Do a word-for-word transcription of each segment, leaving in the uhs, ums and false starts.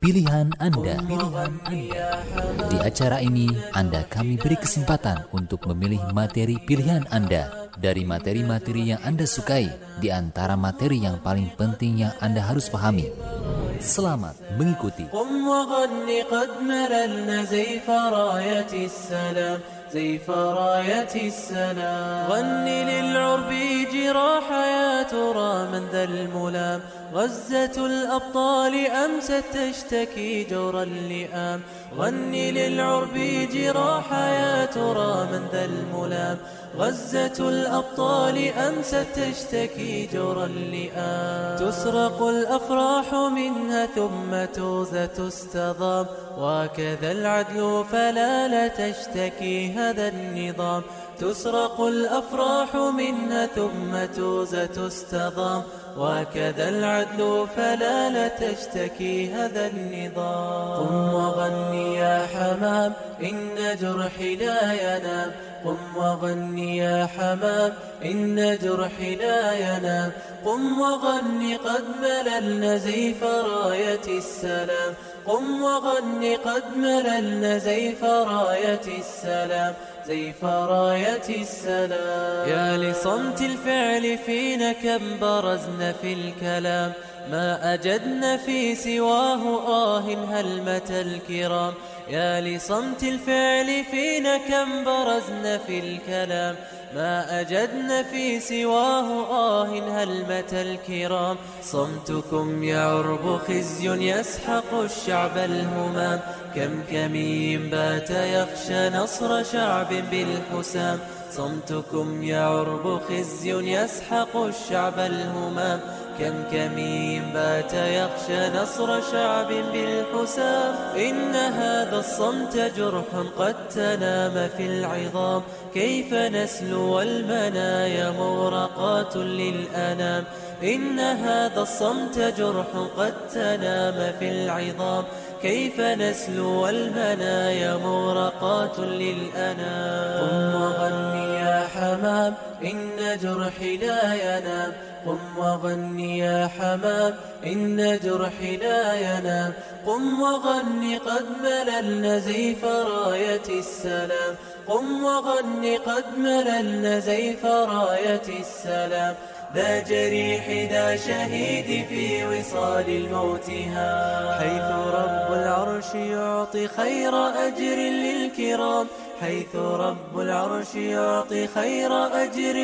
Pilihan Anda. Pilihan Anda. Di acara ini, Anda kami beri kesempatan untuk memilih materi pilihan Anda dari materi-materi yang Anda sukai, di antara materi yang paling penting yang Anda harus pahami. Selamat mengikuti. زيف راية السلام غني للعرب جراح يا ترى من ذا الملام غزة الأبطال أمست تشتكي جور اللئام غني للعرب جراح يا ترى من ذا الملام غزة الأبطال أمست تشتكي جور اللئام تسرق الأفراح منها ثم توزة تستضام وكذا العدل فلا لا تشتكي هذا النظام تسرق الأفراح منها ثم توزة تستضام وكذا العدل فلا لا تشتكي هذا النظام قم وغني يا حمام إن جرحي لا ينام قم وغني يا حمام إن جرحي لا ينام قم وغني قد مللنا زيف راية السلام قم وغني قد مللنا زيف راية السلام زيف راية السلام يا لصمت الفعل فينا كم برزنا في الكلام ما أجدنا في سواه آه هلمة الكرام يا لصمت الفعل فينا كم برزنا في الكلام ما أجدنا في سواه آه هلمة الكرام صمتكم يا عرب خزي يسحق الشعب الهمام كم كمين بات يخشى نصر شعب بالحسام صمتكم يا عرب خزي يسحق الشعب الهمام كم كمين بات يخشى نصر شعب بالحسام إن هذا الصمت جرح قد تنام في العظام كيف نسلو المنايا مورقات للأنام إن هذا الصمت جرح قد تنام في العظام كيف نسلو المنايا مورقات للأنام قم وغني يا حمام إن جرحي لا ينام قم وغني يا حمام إن جرحي لا ينام قم وغني قد مللنا زيف راية السلام قم وغني قد مللنا زيف راية السلام ذا جريح ذا شهيد في وصال الموتها حيث رب العرش يعطي خير أجر للكرام حيث رب العرش يعطي خير أجر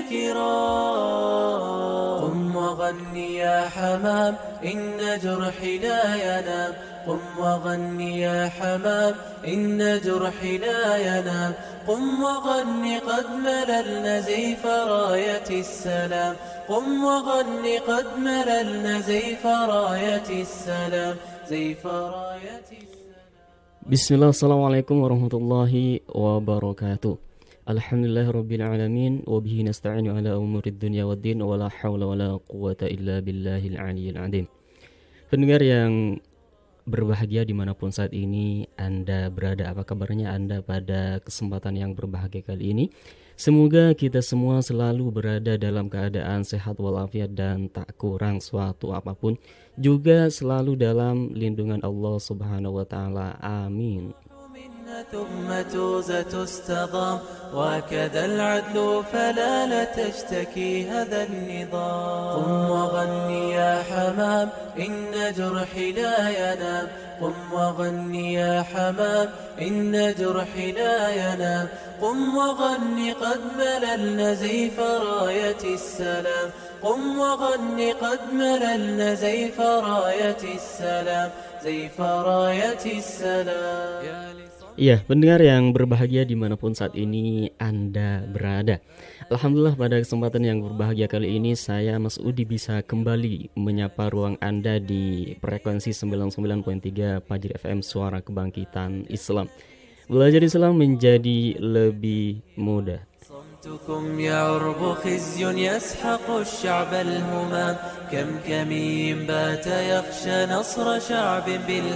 للكرام قم وغني يا حمام إن جرحي لا ينام قم وغني يا حمام إن جرحي لا ينام قم وغني قد مللنا زيف راية السلام قم وغني قد مللنا زيف راية السلام زيف راية السلام. Bismillah, assalamualaikum warahmatullahi wabarakatuh. Alhamdulillahirabbil alamin wa bihi nasta'inu ala umurid dunya waddin wa la haula wa la quwwata illa billahil aliyyil azim. Pendengar yang berbahagia dimanapun saat ini Anda berada, apa kabarnya Anda pada kesempatan yang berbahagia kali ini? Semoga kita semua selalu berada dalam keadaan sehat walafiat dan tak kurang suatu apapun, juga selalu dalam lindungan Allah Subhanahu wa taala. Amin. ثم توزة تستضام وكذا العدل فلا لا تشتكي هذا النظام قم وغني يا حمام إن جرحي لا ينام قم وغني يا حمام إن جرحي لا ينام قم وغني قد مللنا زيف راية السلام قم وغني قد مللنا زيف راية السلام زيف راية السلام. Iya, pendengar yang berbahagia dimanapun saat ini Anda berada. Alhamdulillah, pada kesempatan yang berbahagia kali ini saya Mas Udi bisa kembali menyapa ruang Anda di frekuensi sembilan puluh sembilan koma tiga Fajri F M, Suara Kebangkitan Islam. Belajar Islam menjadi lebih mudah. صمتكم يا عرب خزي يسحق الشعب الهمام كم كمين بات يخشى نصر شعب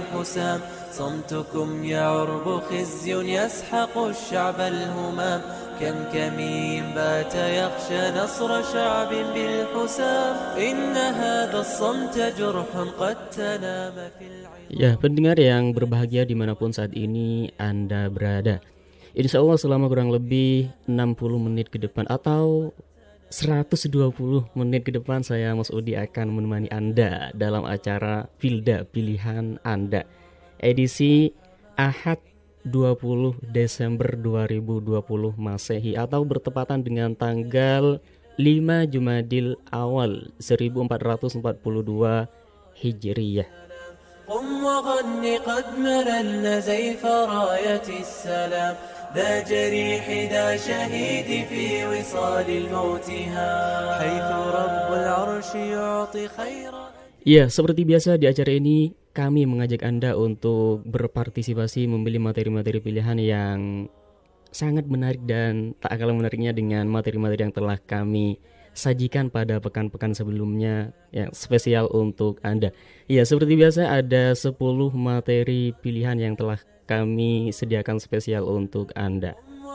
بالحسام صمتكم يا عرب خزي يسحق الشعب الهمام كم كمين بات يخشى نصر شعب بالحسام إن هذا الصمت جرح قد تنام في العين. Ya, pendengar yang berbahagia dimanapun saat ini Anda berada, insya Allah selama kurang lebih enam puluh menit ke depan atau seratus dua puluh menit ke depan, saya Mas Udi akan menemani Anda dalam acara Pilda Pilihan Anda edisi Ahad dua puluh Desember dua ribu dua puluh Masehi atau bertepatan dengan tanggal lima Jumadil Awal seribu empat ratus empat puluh dua Hijriyah. قم وغن قد مللنا زيف راية السلام ذا جريح ذا شهيد في وصال الموتها حيث رب العرش يعطي خيرا. Ya, seperti biasa di acara ini kami mengajak Anda untuk berpartisipasi memilih materi-materi pilihan yang sangat menarik dan tak kalah menariknya dengan materi-materi yang telah kami sajikan pada pekan-pekan sebelumnya yang spesial untuk Anda. Ya, seperti biasa ada sepuluh materi pilihan yang telah kami sediakan spesial untuk Anda.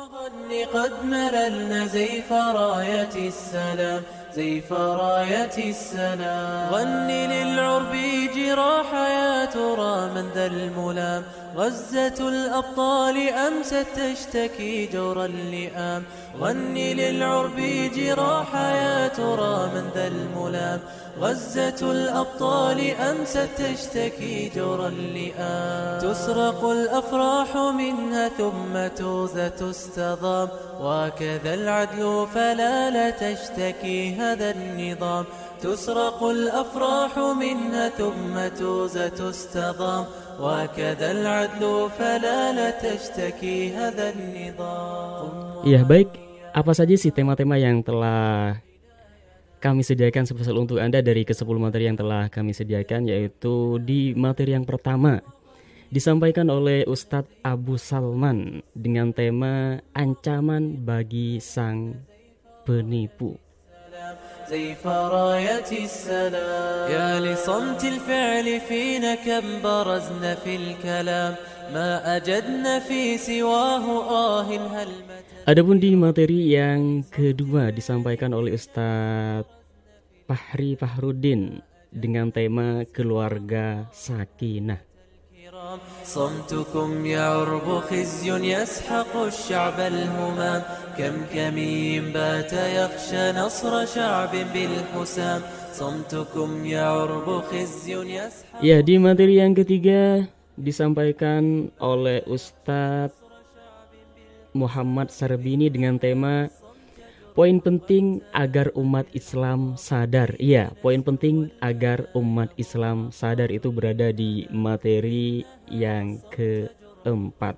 قد مللنا زيف راية السلام زيف راية السلام غن للعرب جراح يا ترى من ذا الملام غزة الأبطال أمست تشتكي جور اللئام غن للعرب جراح يا ترى من ذا الملام غزة الأبطال أمست تشتكي جور اللئام تسرق الأفراح منها ثم توزى تستضام وكذا العدل فلا لا تشتكي هذا النظام تسرق الأفراح منها ثم توزى تستضام وكذا العدل فلا لا تشتكي هذا النظام. Ya, baik, apa saja sih tema-tema yang telah kami sediakan spesial untuk Anda dari kesepuluh materi yang telah kami sediakan, yaitu di materi yang pertama disampaikan oleh Ustadz Abu Salman dengan tema ancaman bagi sang penipu. زيف راية السلام يا لصمت الفعل فينا كم برزنا في الكلام ما أجدنا في سواه آه هل متى. Adapun di materi yang kedua disampaikan oleh Ustadz Fahri Fahrudin dengan tema keluarga sakinah. صمتكم يعرب خزي يسحق الشعب الهمام كم كمين بات يخشى نصر شعب بالحسام صمتكم يعرب خزي يسحق. Ya, di materi yang ketiga disampaikan oleh Ustadz Muhammad Sarbini dengan tema poin penting agar umat Islam sadar. Iya, poin penting agar umat Islam sadar itu berada di materi yang keempat.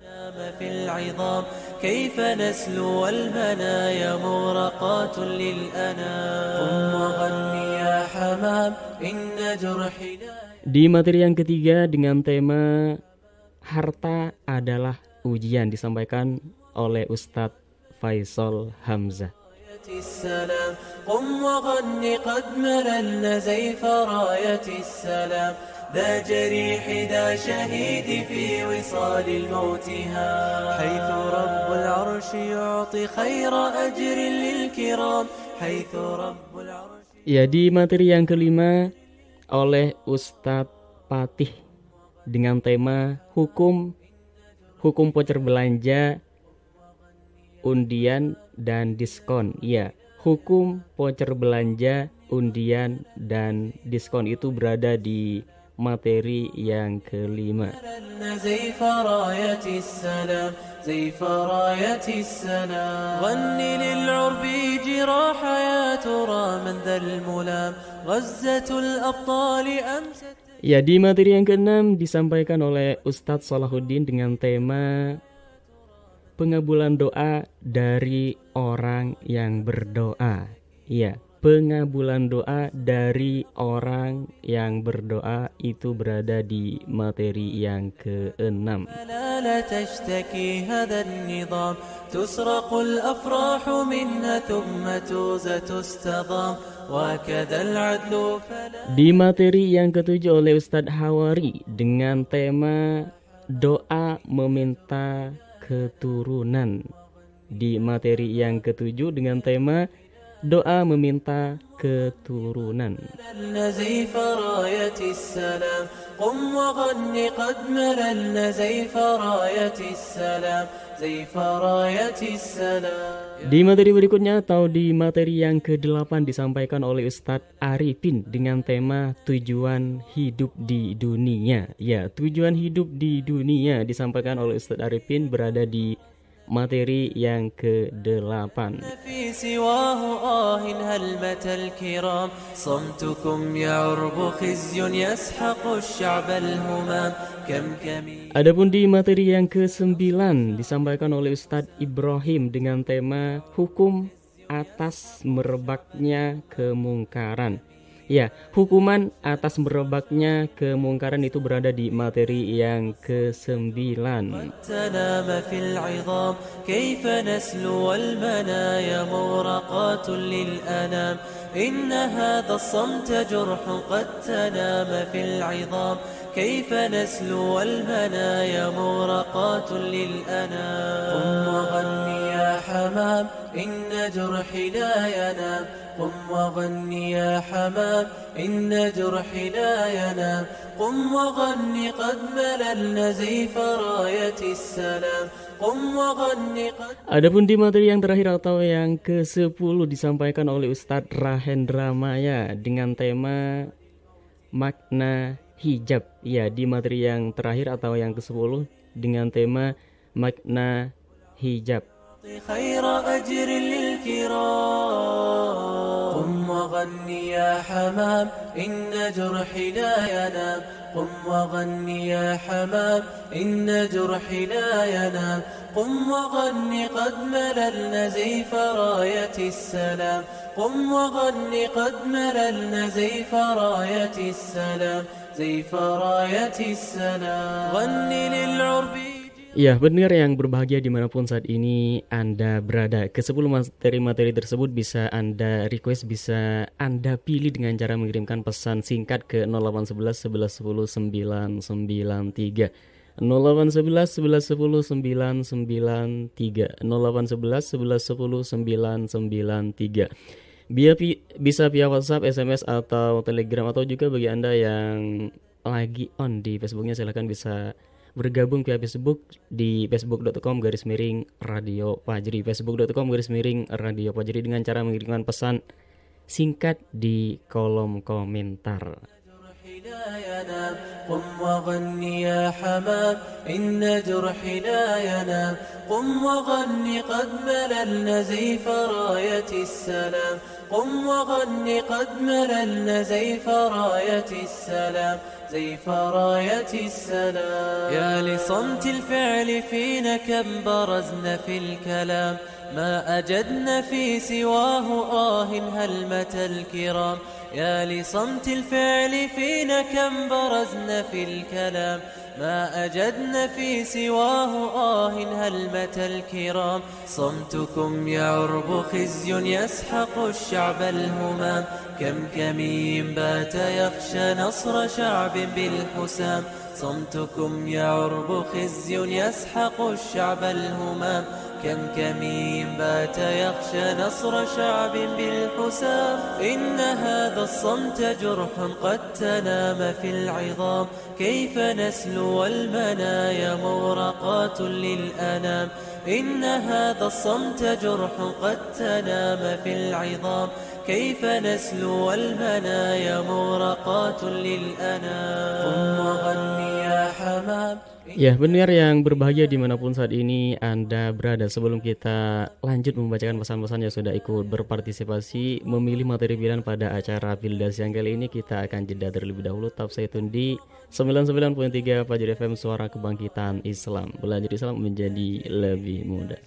Di materi yang ketiga dengan tema harta adalah ujian disampaikan oleh Ustadz Faisal Hamzah. قم وغن قد مللنا زيف راية السلام ذا جريح ذا شهيد في وصال الموتها حيث رب العرش يعطي خير أجر للكرام حيث رب العرش. Ya, di materi yang kelima oleh Ustadz Patih dengan tema hukum hukum voucher belanja, undian dan diskon. Ya, hukum voucher belanja, undian dan diskon itu berada di materi yang kelima. Ya, di materi yang keenam disampaikan oleh Ustadz Salahuddin dengan tema pengabulan doa dari orang yang berdoa. Iya, pengabulan doa dari orang yang berdoa itu berada di materi yang keenam. Di materi yang ketujuh oleh Ustadz Hawari dengan tema doa meminta keturunan. di materi yang ketujuh dengan tema doa meminta keturunan. Di materi berikutnya atau di materi yang kedelapan disampaikan oleh Ustadz Arifin dengan tema tujuan hidup di dunia. Ya, tujuan hidup di dunia disampaikan oleh Ustadz Arifin berada di materi yang kedelapan. Adapun di materi yang kesembilan disampaikan oleh Ustadz Ibrahim dengan tema hukum atas merebaknya kemungkaran. Ya, hukuman atas merebaknya kemungkaran itu berada di materi yang kesembilan. كيف نسلو والمنايا مورقات للأنام قم وغني يا حمام إن جرحي لا ينام قم وغني يا حمام إن جرحي لا ينام قم وغني قد مللنا زيف راية السلام قم وغني قد. Adapun di materi yang terakhir atau yang kesepuluh disampaikan oleh Ustadz Rahendra Maya dengan tema makna hijab. Ya, di materi yang terakhir atau yang kesepuluh dengan tema makna hijab. خير أجر للكرام قم وغني يا حمام إن جرحي لا ينام قم وغني يا حمام إن جرحي لا ينام قم وغني قد مللنا زيف راية السلام قم وغني قد مللنا زيف راية السلام زيف راية السلام غني للعرب. Ya, benar yang berbahagia dimanapun saat ini Anda berada. Kesepuluh materi-materi tersebut bisa Anda request, bisa Anda pilih dengan cara mengirimkan pesan singkat ke nol delapan satu satu satu satu sembilan sembilan tiga nol delapan satu satu satu satu sembilan sembilan tiga nol delapan satu satu satu sembilan sembilan tiga. Bisa via WhatsApp, S M S atau Telegram, atau juga bagi Anda yang lagi on di Facebooknya silahkan bisa bergabung via Facebook di facebook.com garis miring Radio Fajri, facebook.com garis miring Radio Fajri dengan cara mengirimkan pesan singkat di kolom komentar. قم وغني يا حمام إن جرحي لا ينام قم وغني قد مللنا زيف راية السلام قم وغني قد مللنا زيف راية السلام زيف راية السلام يا لصمت الفعل فينا كم برزنا في الكلام ما أجدنا في سواه آه هلمة الكرام يا لصمت الفعل فينا كم برزنا في الكلام ما أجدنا في سواه آه هلمة الكرام صمتكم يعرب خزي يسحق الشعب الهمام كم كمين بات يخشى نصر شعب بالحسام صمتكم يعرب خزي يسحق الشعب الهمام كم كمين بات يخشى نصر شعب بالحسام إن هذا الصمت جرح قد تنام في العظام كيف نسلو والمنايا مورقات للأنام إن هذا الصمت جرح قد تنام في العظام كيف نسلو والمنايا مورقات للأنام قم وغني يا حمام. Ya, benar yang berbahagia dimanapun saat ini Anda berada. Sebelum kita lanjut membacakan pesan-pesan yang sudah ikut berpartisipasi memilih materi pilihan pada acara Pildas yang kali ini, kita akan jeda terlebih dahulu. Tetap stay tune di sembilan puluh sembilan koma tiga Fajri F M, Suara Kebangkitan Islam. Belajar Islam menjadi lebih mudah.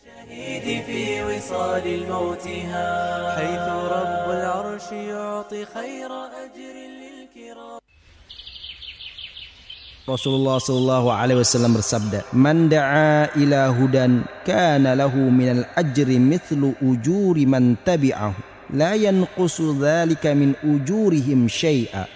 Rasulullah sallallahu alaihi wasallam bersabda, "Man da'a ila hudan kana lahu minal ajri mithlu ujuri man tabi'ahu, la yanqusu dzalika min ujurihim syai'a."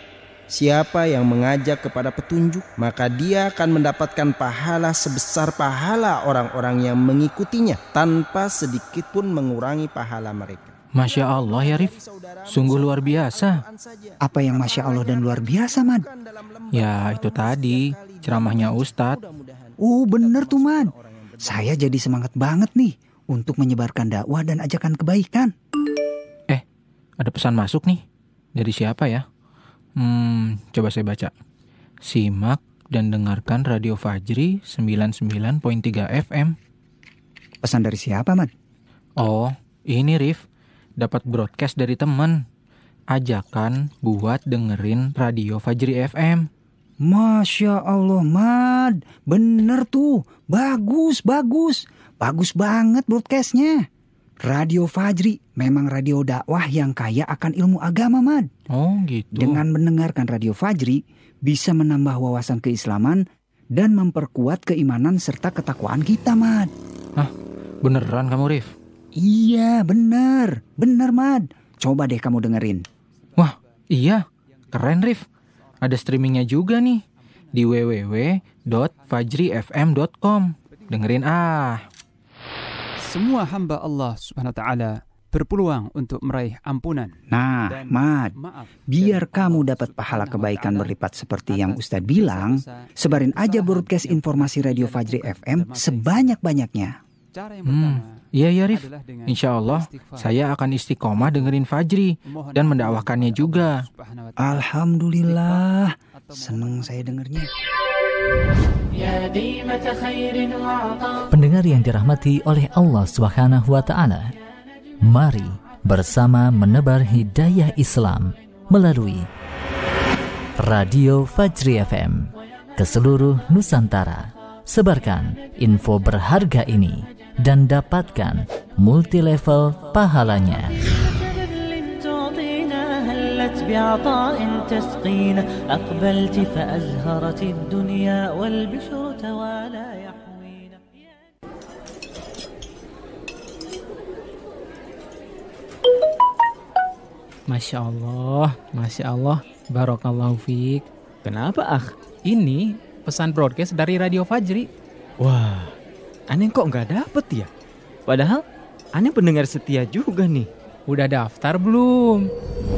Siapa yang mengajak kepada petunjuk, maka dia akan mendapatkan pahala sebesar pahala orang-orang yang mengikutinya, tanpa sedikit pun mengurangi pahala mereka. Masya Allah ya Rif, sungguh luar biasa. Apa yang Masya Allah dan luar biasa, Mad? Ya itu tadi, ceramahnya Ustadz. Oh bener tuh, Mad. Saya jadi semangat banget nih untuk menyebarkan dakwah dan ajakan kebaikan. Eh, ada pesan masuk nih. Dari siapa ya? Hmm, coba saya baca. Simak dan dengarkan Radio Fajri sembilan puluh sembilan koma tiga F M. Pesan dari siapa, Mad? Oh, ini Rif. Dapat broadcast dari teman. Ajakan buat dengerin Radio Fajri F M. Masya Allah, Mad. Bener tuh. Bagus, bagus. Bagus banget broadcastnya. Radio Fajri memang radio dakwah yang kaya akan ilmu agama, Mad. Oh gitu. Dengan mendengarkan Radio Fajri, bisa menambah wawasan keislaman dan memperkuat keimanan serta ketakwaan kita, Mad. Hah? Beneran kamu, Rif? Iya, bener. Bener, Mad. Coba deh kamu dengerin. Wah, iya. Keren, Rif. Ada streamingnya juga nih. Di w w w dot fajri f m dot com. Dengerin ah. Semua hamba Allah subhanahu wa ta'ala berpeluang untuk meraih ampunan. Nah, Mad, biar kamu dapat pahala kebaikan berlipat seperti yang Ustadz bilang, sebarin aja broadcast informasi Radio Fajri F M sebanyak-banyaknya. Hmm, iya ya Rif. Insya Allah saya akan istiqomah dengerin Fajri dan mendakwahkannya juga. Alhamdulillah, seneng saya dengernya. Pendengar yang dirahmati oleh Allah Subhanahu wa taala, mari bersama menebar hidayah Islam melalui Radio Fajri F M ke seluruh Nusantara. Sebarkan info berharga ini dan dapatkan multi level pahalanya. بعطاء تسقينا أقبلت فأزهرت الدنيا والبشر توالى يحوينا. Masya Allah, Masya Allah, Barakallahu fiik. Kenapa ah? Ini pesan broadcast dari Radio Fajri. Wah, aneh kok nggak dapet ya? Padahal aneh pendengar setia juga nih. Udah daftar belum?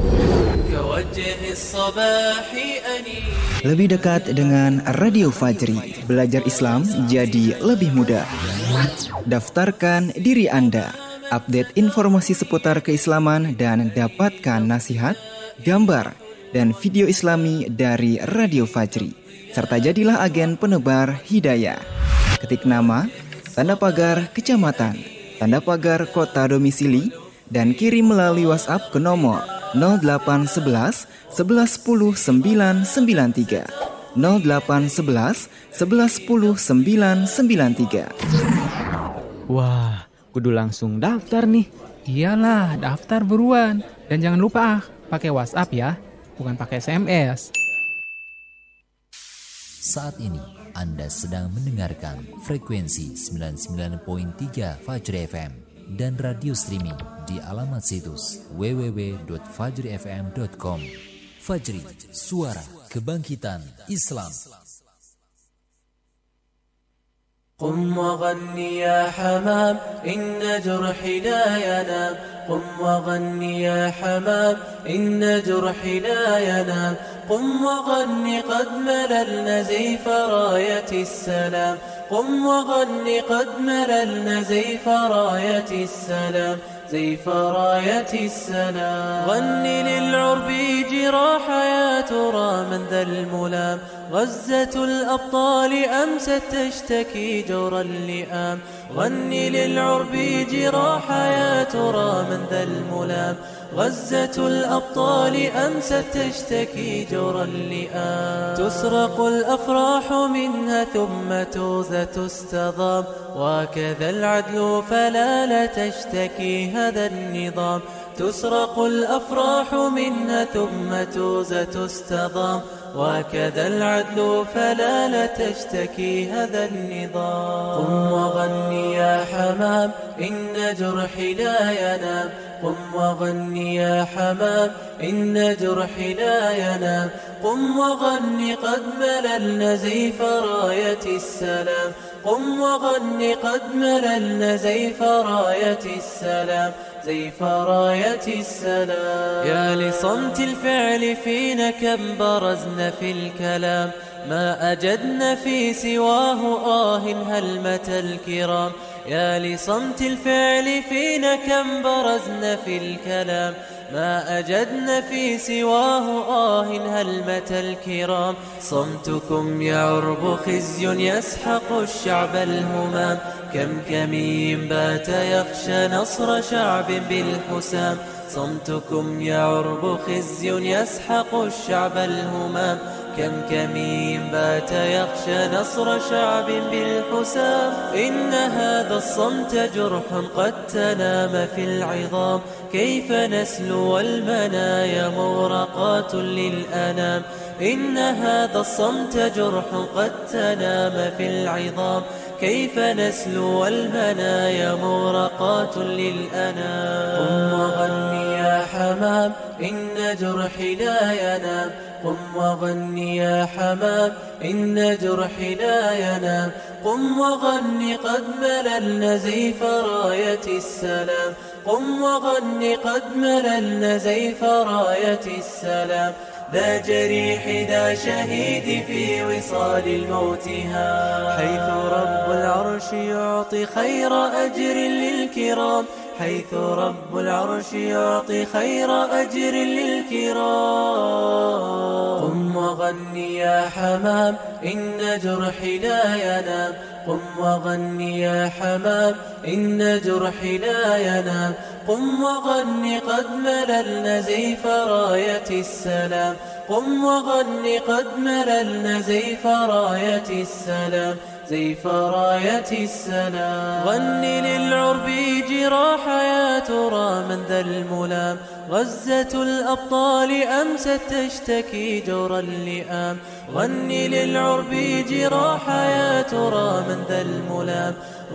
Lebih dekat dengan Radio Fajri, belajar Islam jadi lebih mudah. Daftarkan diri Anda, update informasi seputar keislaman dan dapatkan nasihat, gambar, dan video Islami dari Radio Fajri. Serta jadilah agen penebar hidayah. Ketik nama, tanda pagar kecamatan, tanda pagar kota domisili, dan kirim melalui WhatsApp ke nomor nol delapan sebelas sebelas sepuluh sembilan sembilan tiga nol delapan sebelas sebelas sepuluh sembilan sembilan tiga. Wah, kudu langsung daftar nih. Iyalah, daftar buruan. Dan jangan lupa ah, pakai WhatsApp ya, bukan pakai S M S. Saat ini Anda sedang mendengarkan frekuensi sembilan puluh sembilan koma tiga Fajri F M dan radio streaming di alamat situs w w w dot fajri f m dot com. Fajri, suara kebangkitan Islam. قم وغني يا حمام إن جرحي لا ينام قم وغني يا حمام إن جرحي لا ينام قم وغني قد مللنا زيف راية السلام قم وغني قد مللنا زيف راية السلام زيف راية السلام غني للعرب جراح يا ترى من ذا الملام غزة الأبطال أمست تشتكي جور اللئام غني للعرب جراح يا ترى من ذا الملام غزة الأبطال أمست تشتكي جور اللئام تسرق الأفراح منها ثم توزى تستضام وكذا العدل فلا لا تشتكي هذا النظام تسرق الأفراح منها ثم توزى تستضام وكذا العدل فلا لا تشتكي هذا النظام قم وغني يا حمام إن جرحي لا ينام قم وغني يا حمام إن جرحي لا ينام قم وغني قد مللنا زيف راية السلام قم وغني قد مللنا زيف راية السلام زيف راية السلام يا لصمت الفعل فينا كم برزنا في الكلام ما أجدنا في سواه آه هلمة الكرام يا لصمت الفعل فينا كم برزنا في الكلام ما أجدنا في سواه آه هلمة الكرام صمتكم يا عرب خزي يسحق الشعب الهمام كم كمين بات يخشى نصر شعب بالحسام صمتكم يا عرب خزي يسحق الشعب الهمام كم كمين بات يخشى نصر شعب بالحسام إن هذا الصمت جرح قد تنام في العظام كيف نسلو والمنايا مورقات للأنام إن هذا الصمت جرح قد تنام في العظام كيف نسلو والمنايا مورقات للأنام قم وغني يا حمام إن جرحي لا ينام قم وغني يا حمام إن جرحي لا ينام قم وغني قد مللنا زيف راية السلام قم وغني قد مللنا زيف راية السلام ذا جريح ذا شهيد في وصال الموتها حيث رب العرش يعطي خير أجر للكرام حيث رب العرش يعطي خير أجر للكرام قم وغني يا حمام إن جرحي لا ينام قم وغني يا حمام إن جرحي لا ينام قم وغني قد مللنا زيف راية السلام قم وغني قد مللنا زيف راية السلام زيف راية السلام غني للعرب جراح يا ترى من ذا الملام غزة الأبطال أمست تشتكي جور اللئام غني للعرب جراح يا ترى من ذا الملام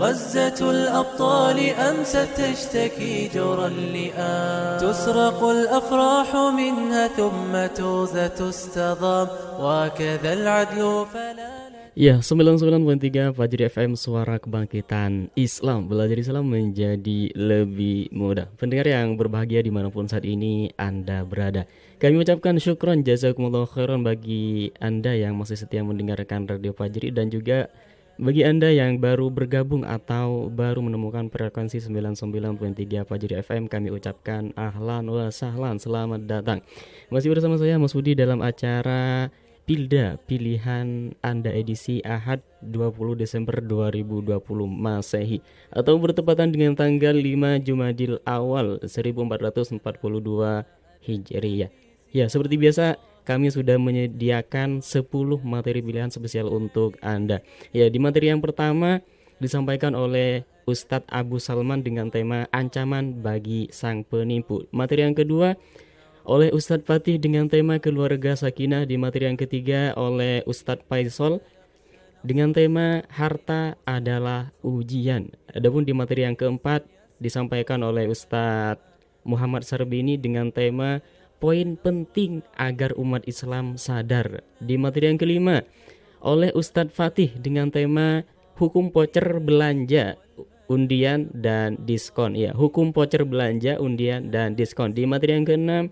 غزة الأبطال أمست تشتكي جور اللئام تسرق الأفراح منها ثم توزى تستضام وكذا العدل فلا Ya, sembilan puluh sembilan koma tiga Fajri F M, suara kebangkitan Islam. Belajar Islam menjadi lebih mudah. Pendengar yang berbahagia dimanapun saat ini Anda berada, kami ucapkan syukron jazakumullah khairan bagi Anda yang masih setia mendengarkan Radio Fajri, dan juga bagi Anda yang baru bergabung atau baru menemukan frekuensi sembilan puluh sembilan koma tiga Fajri F M, kami ucapkan ahlan wa sahlan, selamat datang. Masih bersama saya Mas Budi dalam acara Pilda Pilihan Anda edisi Ahad dua puluh Desember dua ribu dua puluh Masehi, atau bertepatan dengan tanggal lima Jumadil Awal seribu empat ratus empat puluh dua Hijriyah. Ya, seperti biasa kami sudah menyediakan sepuluh materi pilihan spesial untuk Anda. Ya, di materi yang pertama disampaikan oleh Ustadz Abu Salman dengan tema ancaman bagi sang penipu. Materi yang kedua oleh Ustadz Fatih dengan tema keluarga sakinah. Di materi yang ketiga oleh Ustadz Faisal dengan tema harta adalah ujian. Adapun di materi yang keempat disampaikan oleh Ustadz Muhammad Sarbini dengan tema poin penting agar umat Islam sadar. Di materi yang kelima oleh Ustadz Fatih dengan tema hukum voucher belanja, undian dan diskon. Ya, hukum voucher belanja, undian dan diskon. Di materi yang keenam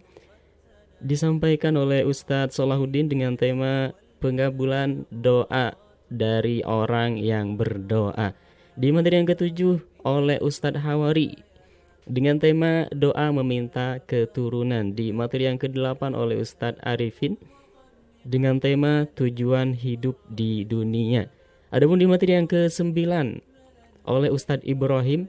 disampaikan oleh Ustadz Solahuddin dengan tema pengabulan doa dari orang yang berdoa. Di materi yang ketujuh oleh Ustadz Hawari dengan tema doa meminta keturunan. Di materi yang kedelapan oleh Ustadz Arifin dengan tema tujuan hidup di dunia. Adapun di materi yang kesembilan oleh Ustadz Ibrahim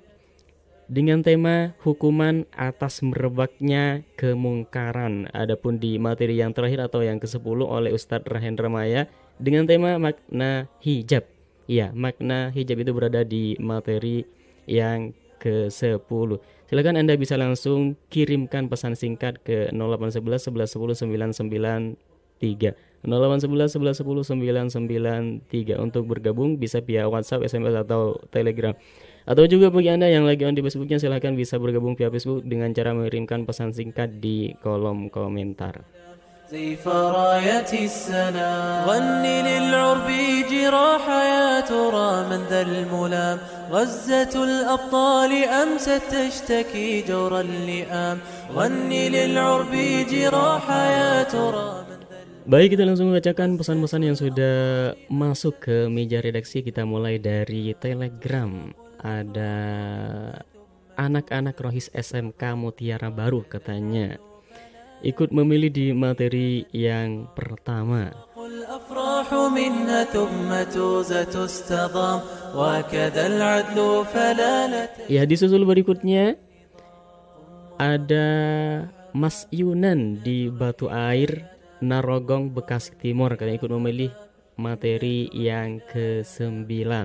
dengan tema hukuman atas merebaknya kemungkaran. Adapun di materi yang terakhir atau yang kesepuluh oleh Ustadz Rahendra Maya dengan tema makna hijab. Ya, makna hijab itu berada di materi yang kesepuluh. Silakan Anda bisa langsung kirimkan pesan singkat ke nol delapan satu satu satu satu nol sembilan sembilan tiga nol delapan satu satu satu satu sembilan sembilan tiga. Untuk bergabung bisa via WhatsApp, S M S atau Telegram. Atau juga bagi Anda yang lagi on di Facebooknya, silahkan bisa bergabung via Facebook dengan cara mengirimkan pesan singkat di kolom komentar. زيف راية السلام غني للعرب جراح يا ترى من ذا الملام غزة الأبطال أمست تشتكي جور اللئام غني للعرب جراح يا ترى. Baik, kita langsung membacakan pesan-pesan yang sudah masuk ke meja redaksi. Kita mulai dari Telegram. Ada anak-anak Rohis S M K Mutiara Baru katanya ikut memilih di materi yang pertama. Ya, disusul berikutnya ada Mas Yunan di Batu Air, Narogong, Bekasi Timur, katanya ikut memilih materi yang kesembilan.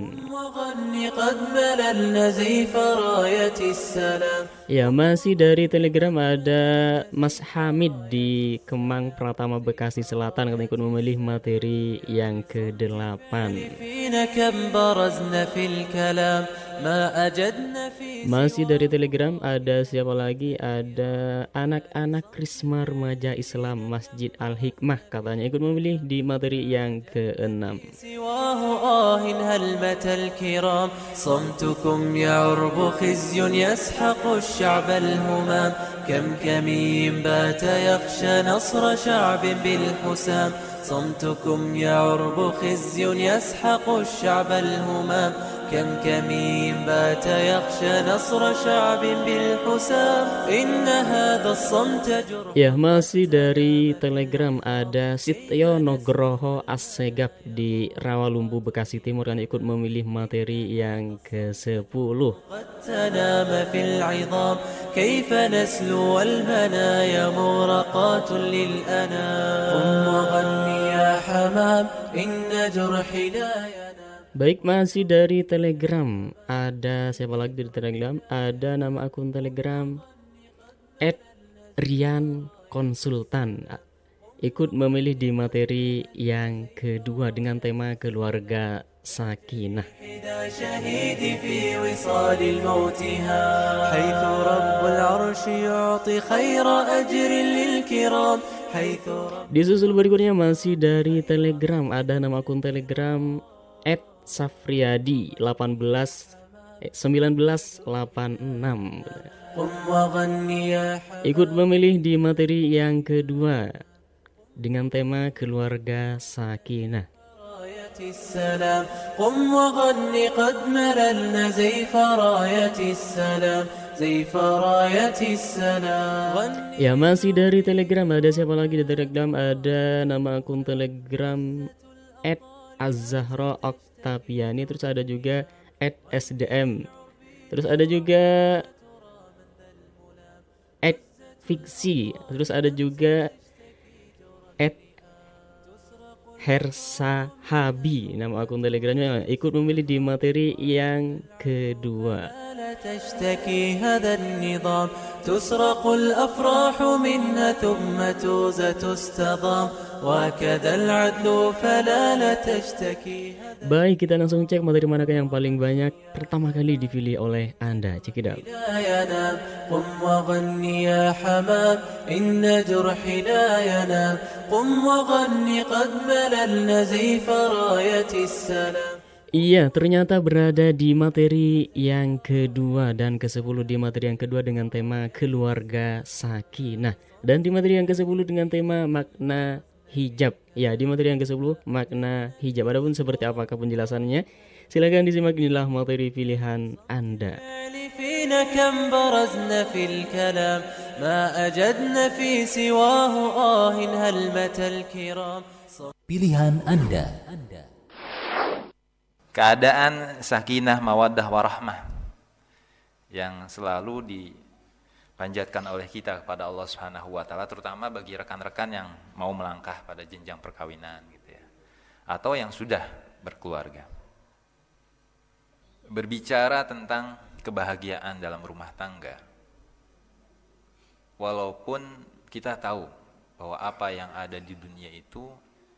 Ya, masih dari Telegram ada Mas Hamid di Kemang Pratama, Bekasi Selatan, katanya ikut memilih materi yang kedelapan. Masih dari Telegram ada siapa lagi? Ada anak-anak Krisma Remaja Islam Masjid Al-Hikmah, katanya ikut memilih di materi yang keenam. صمتكم يعرب خزي يسحق الشعب الهمام كم كمين بات يخشى نصر شعب بالحسام إن هذا الصمت جرح. Ya, masih dari Telegram ada Sityo Nugroho Assegaf di Rawalumbu, Bekasi Timur, yang ikut memilih materi yang kesepuluh. تنام في العظام كيف نسلو المنايا مورقات للأنام قم وغني يا حمام إن جرحي لا ينام. Baik, masih dari Telegram ada siapa lagi dari Telegram? Ada nama akun Telegram et rian konsultan, ikut memilih di materi yang kedua dengan tema keluarga sakinah. Disusul berikutnya masih dari Telegram, ada nama akun Telegram et Safriadi delapan belas sembilan belas delapan enam, ikut memilih di materi yang kedua dengan tema keluarga sakinah. Ya, masih dari Telegram ada siapa lagi di Telegram? Ada nama akun Telegram et Az-Zahra Oktaviani, terus ada juga et S D M, terus ada juga et Fiksi, terus ada juga et Hersa Habi, nama akun Telegramnya, ikut memilih di materi yang kedua. تشتكي هذا النظام تسرق الأفراح منها ثم توزى تستضام وكذا العدل فلا لا تشتكي. Baik, kita langsung cek materi manakah yang paling banyak pertama kali dipilih oleh Anda. Check it out. قم وغني يا حمام إن جرحي لا ينام قم وغني قد مللنا زيف راية السلام. Iya, ternyata berada di materi yang kedua dan kesepuluh, di materi yang kedua dengan tema keluarga sakinah, dan di materi yang kesepuluh dengan tema makna hijab. Ya, di materi yang kesepuluh makna hijab. Adapun seperti apakah penjelasannya, silakan disimak, inilah materi pilihan Anda. Pilihan Anda. Keadaan sakinah, mawaddah, warahmah yang selalu dipanjatkan oleh kita kepada Allah Subhanahu wa taala, terutama bagi rekan-rekan yang mau melangkah pada jenjang perkawinan gitu ya, atau yang sudah berkeluarga. Berbicara tentang kebahagiaan dalam rumah tangga. Walaupun kita tahu bahwa apa yang ada di dunia itu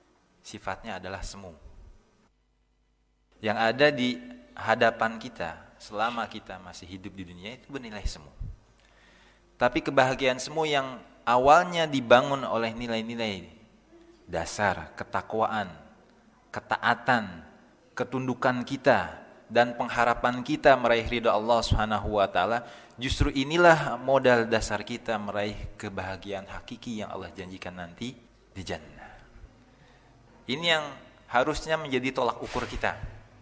sifatnya adalah semu. Yang ada di hadapan kita selama kita masih hidup di dunia itu bernilai semu. Tapi kebahagiaan semu yang awalnya dibangun oleh nilai-nilai dasar, ketakwaan, ketaatan, ketundukan kita, dan pengharapan kita meraih ridha Allah Subhanahu wa taala, justru inilah modal dasar kita meraih kebahagiaan hakiki yang Allah janjikan nanti di jannah. Ini yang harusnya menjadi tolak ukur kita.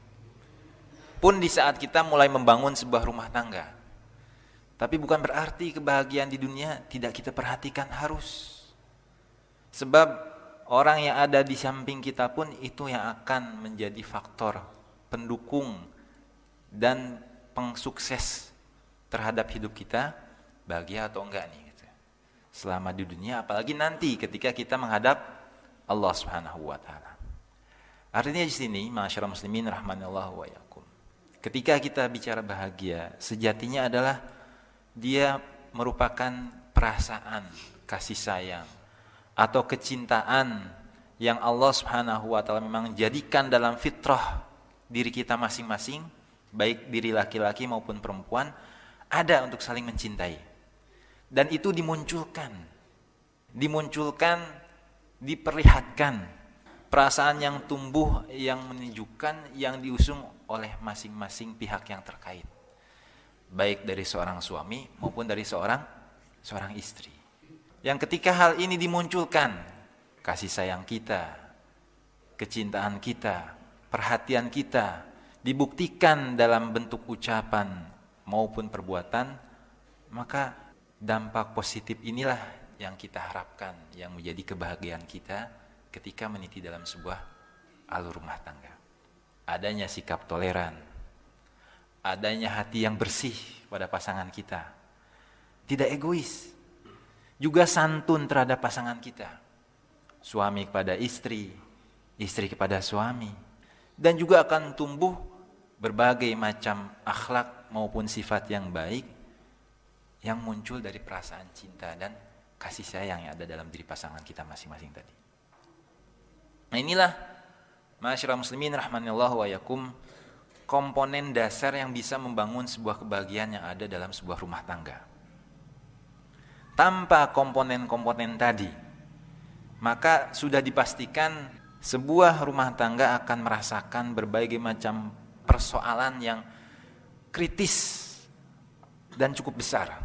Pun di saat kita mulai membangun sebuah rumah tangga. Tapi bukan berarti kebahagiaan di dunia tidak kita perhatikan, harus. Sebab orang yang ada di samping kita pun itu yang akan menjadi faktor pendukung dan pengsukses terhadap hidup kita, bahagia atau enggak nih gitu. Selama di dunia, apalagi nanti ketika kita menghadap Allah Subhanahu wa taala. Artinya di sini, ma'asyiral muslimin rahimanallahu wa iyyakum. Ketika kita bicara bahagia, sejatinya adalah dia merupakan perasaan kasih sayang atau kecintaan yang Allah Subhanahu wa taala memang jadikan dalam fitrah diri kita masing-masing, baik diri laki-laki maupun perempuan, ada untuk saling mencintai. Dan itu dimunculkan. Dimunculkan, diperlihatkan. Perasaan yang tumbuh, yang menunjukkan, yang diusung oleh masing-masing pihak yang terkait. Baik dari seorang suami maupun dari seorang seorang istri. Yang ketika hal ini dimunculkan, kasih sayang kita, kecintaan kita, perhatian kita, dibuktikan dalam bentuk ucapan maupun perbuatan, maka dampak positif inilah yang kita harapkan, yang menjadi kebahagiaan kita ketika meniti dalam sebuah alur rumah tangga. Adanya sikap toleran, adanya hati yang bersih pada pasangan kita, tidak egois, juga santun terhadap pasangan kita, suami kepada istri, istri kepada suami, dan juga akan tumbuh berbagai macam akhlak maupun sifat yang baik yang muncul dari perasaan cinta dan kasih sayang yang ada dalam diri pasangan kita masing-masing tadi. Nah inilah ma'asyiral muslimin rahimanallahu wa iyyakum, komponen dasar yang bisa membangun sebuah kebahagiaan yang ada dalam sebuah rumah tangga. Tanpa komponen-komponen tadi, maka sudah dipastikan sebuah rumah tangga akan merasakan berbagai macam persoalan yang kritis dan cukup besar.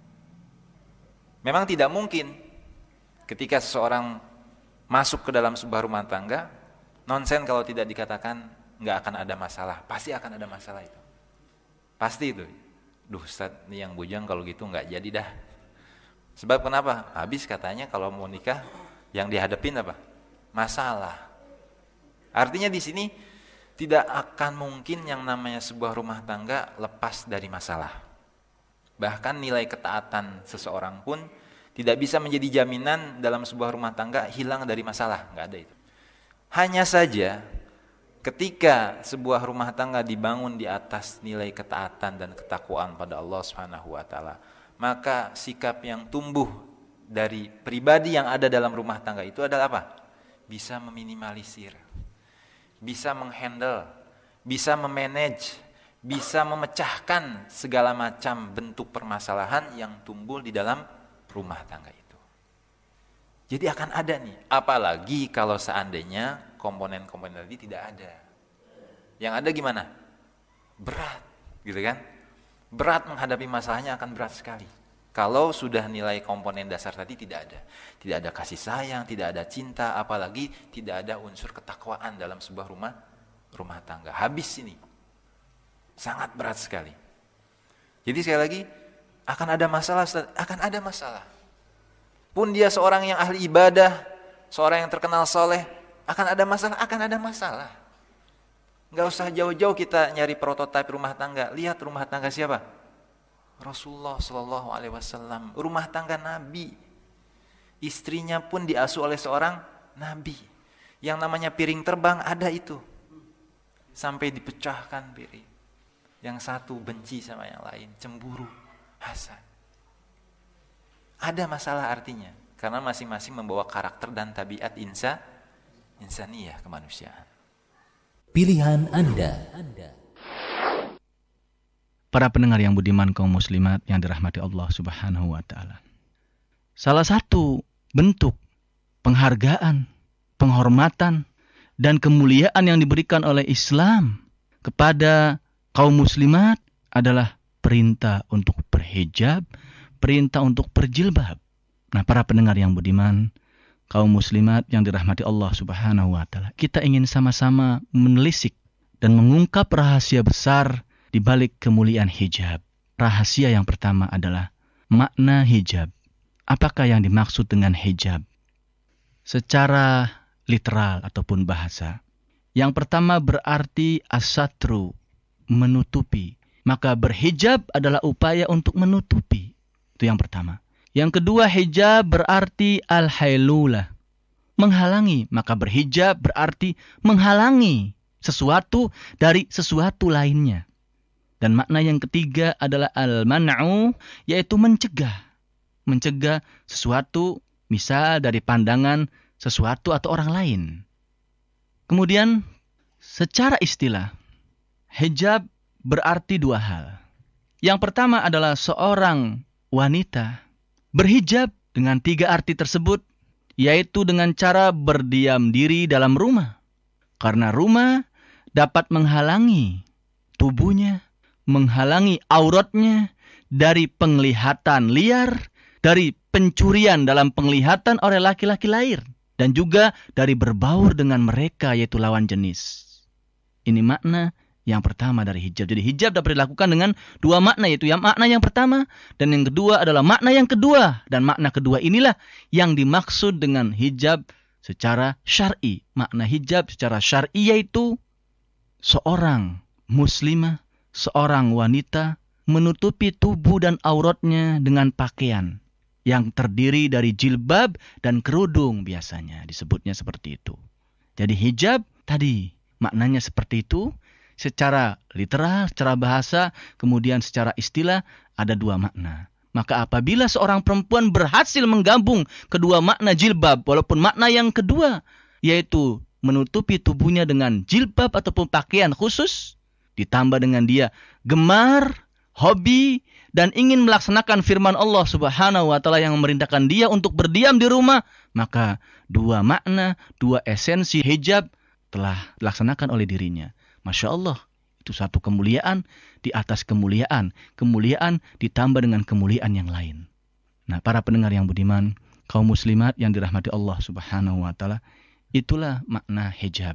Memang tidak mungkin ketika seseorang masuk ke dalam sebuah rumah tangga, nonsen kalau tidak dikatakan nggak akan ada masalah. Pasti akan ada masalah itu. Pasti itu. Duh Ustaz, ini yang bujang kalau gitu nggak jadi dah. Sebab kenapa? Habis katanya kalau mau nikah yang dihadapin apa? Masalah. Artinya di sini tidak akan mungkin yang namanya sebuah rumah tangga lepas dari masalah. Bahkan nilai ketaatan seseorang pun tidak bisa menjadi jaminan dalam sebuah rumah tangga hilang dari masalah, nggak ada itu. Hanya saja ketika sebuah rumah tangga dibangun di atas nilai ketaatan dan ketakwaan pada Allah Subhanahu wa taala, maka sikap yang tumbuh dari pribadi yang ada dalam rumah tangga itu adalah apa? Bisa meminimalisir, bisa menghandle, bisa memanage, bisa memecahkan segala macam bentuk permasalahan yang tumbuh di dalam rumah tangga itu. Jadi akan ada nih, apalagi kalau seandainya komponen-komponen tadi tidak ada. Yang ada gimana? Berat, gitu kan? Berat menghadapi masalahnya akan berat sekali. Kalau sudah nilai komponen dasar tadi tidak ada. Tidak ada kasih sayang, tidak ada cinta, apalagi tidak ada unsur ketakwaan dalam sebuah rumah rumah tangga. Habis ini. Sangat berat sekali. Jadi sekali lagi, akan ada masalah, akan ada masalah. Pun dia seorang yang ahli ibadah, seorang yang terkenal soleh, akan ada masalah, akan ada masalah. Gak usah jauh-jauh kita nyari prototipe rumah tangga. Lihat rumah tangga siapa? Rasulullah Shallallahu Alaihi Wasallam. Rumah tangga Nabi. Istrinya pun diasuh oleh seorang Nabi. Yang namanya piring terbang ada itu. Sampai dipecahkan piring. Yang satu benci sama yang lain, cemburu, hasad. Ada masalah artinya, karena masing-masing membawa karakter dan tabiat insa, insaniyah, kemanusiaan. Pilihan Anda. para pendengar yang budiman kaum muslimat yang dirahmati Allah Subhanahu wa taala. Salah satu bentuk penghargaan, penghormatan dan kemuliaan yang diberikan oleh Islam kepada kaum muslimat adalah perintah untuk berhijab, perintah untuk berjilbab. Nah, para pendengar yang budiman, kaum muslimat yang dirahmati Allah Subhanahu wa taala, kita ingin sama-sama menelisik dan mengungkap rahasia besar di balik kemuliaan hijab. Rahasia yang pertama adalah makna hijab. Apakah yang dimaksud dengan hijab? Secara literal ataupun bahasa. Yang pertama berarti as-satru, menutupi. Maka berhijab adalah upaya untuk menutupi. Itu yang pertama. Yang kedua, hijab berarti al-hailulah, menghalangi. Maka berhijab berarti menghalangi sesuatu dari sesuatu lainnya. Dan makna yang ketiga adalah al-man'u, yaitu mencegah. Mencegah sesuatu, misal dari pandangan sesuatu atau orang lain. Kemudian, secara istilah, hijab berarti dua hal. Yang pertama adalah seorang wanita berhijab dengan tiga arti tersebut, yaitu dengan cara berdiam diri dalam rumah. Karena rumah dapat menghalangi tubuhnya, menghalangi auratnya dari penglihatan liar, dari pencurian dalam penglihatan oleh laki-laki lain, dan juga dari berbaur dengan mereka, yaitu lawan jenis. Ini makna yang pertama dari hijab. Jadi hijab dapat dilakukan dengan dua makna, yaitu yang makna yang pertama dan yang kedua adalah makna yang kedua. Dan makna kedua inilah yang dimaksud dengan hijab secara syar'i. Makna hijab secara syar'i yaitu seorang muslimah, seorang wanita menutupi tubuh dan auratnya dengan pakaian yang terdiri dari jilbab dan kerudung, biasanya disebutnya seperti itu. Jadi hijab tadi maknanya seperti itu. Secara literal, secara bahasa, kemudian secara istilah ada dua makna. Maka apabila seorang perempuan berhasil menggabung kedua makna jilbab, walaupun makna yang kedua yaitu menutupi tubuhnya dengan jilbab ataupun pakaian khusus, ditambah dengan dia gemar, hobi, dan ingin melaksanakan firman Allah Subhanahu wa taala yang memerintahkan dia untuk berdiam di rumah, maka dua makna, dua esensi hijab telah dilaksanakan oleh dirinya. Masya Allah, itu satu kemuliaan di atas kemuliaan. Kemuliaan ditambah dengan kemuliaan yang lain. Nah, para pendengar yang budiman, kaum muslimat yang dirahmati Allah Subhanahu wa taala, itulah makna hijab.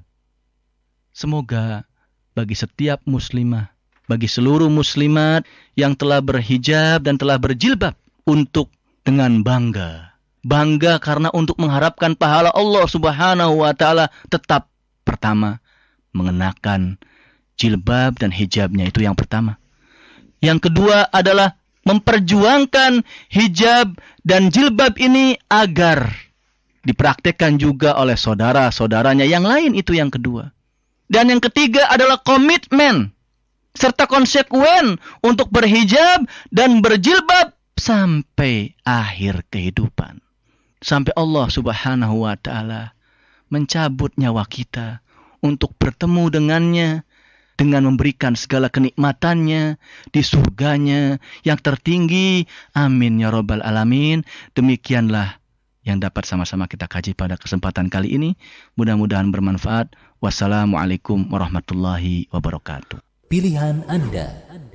Semoga bagi setiap muslimah, bagi seluruh muslimat yang telah berhijab dan telah berjilbab, untuk dengan bangga. Bangga karena untuk mengharapkan pahala Allah Subhanahu wa taala, tetap pertama mengenakan jilbab dan hijabnya, itu yang pertama. Yang kedua adalah memperjuangkan hijab dan jilbab ini agar dipraktekkan juga oleh saudara-saudaranya yang lain, itu yang kedua. Dan yang ketiga adalah komitmen serta konsekuen untuk berhijab dan berjilbab sampai akhir kehidupan. Sampai Allah Subhanahu wa taala mencabut nyawa kita untuk bertemu dengannya dengan memberikan segala kenikmatannya di surganya yang tertinggi. Amin ya rabbal alamin. Demikianlah yang dapat sama-sama kita kaji pada kesempatan kali ini. Mudah-mudahan bermanfaat. Wassalamualaikum warahmatullahi wabarakatuh. Pilihan Anda.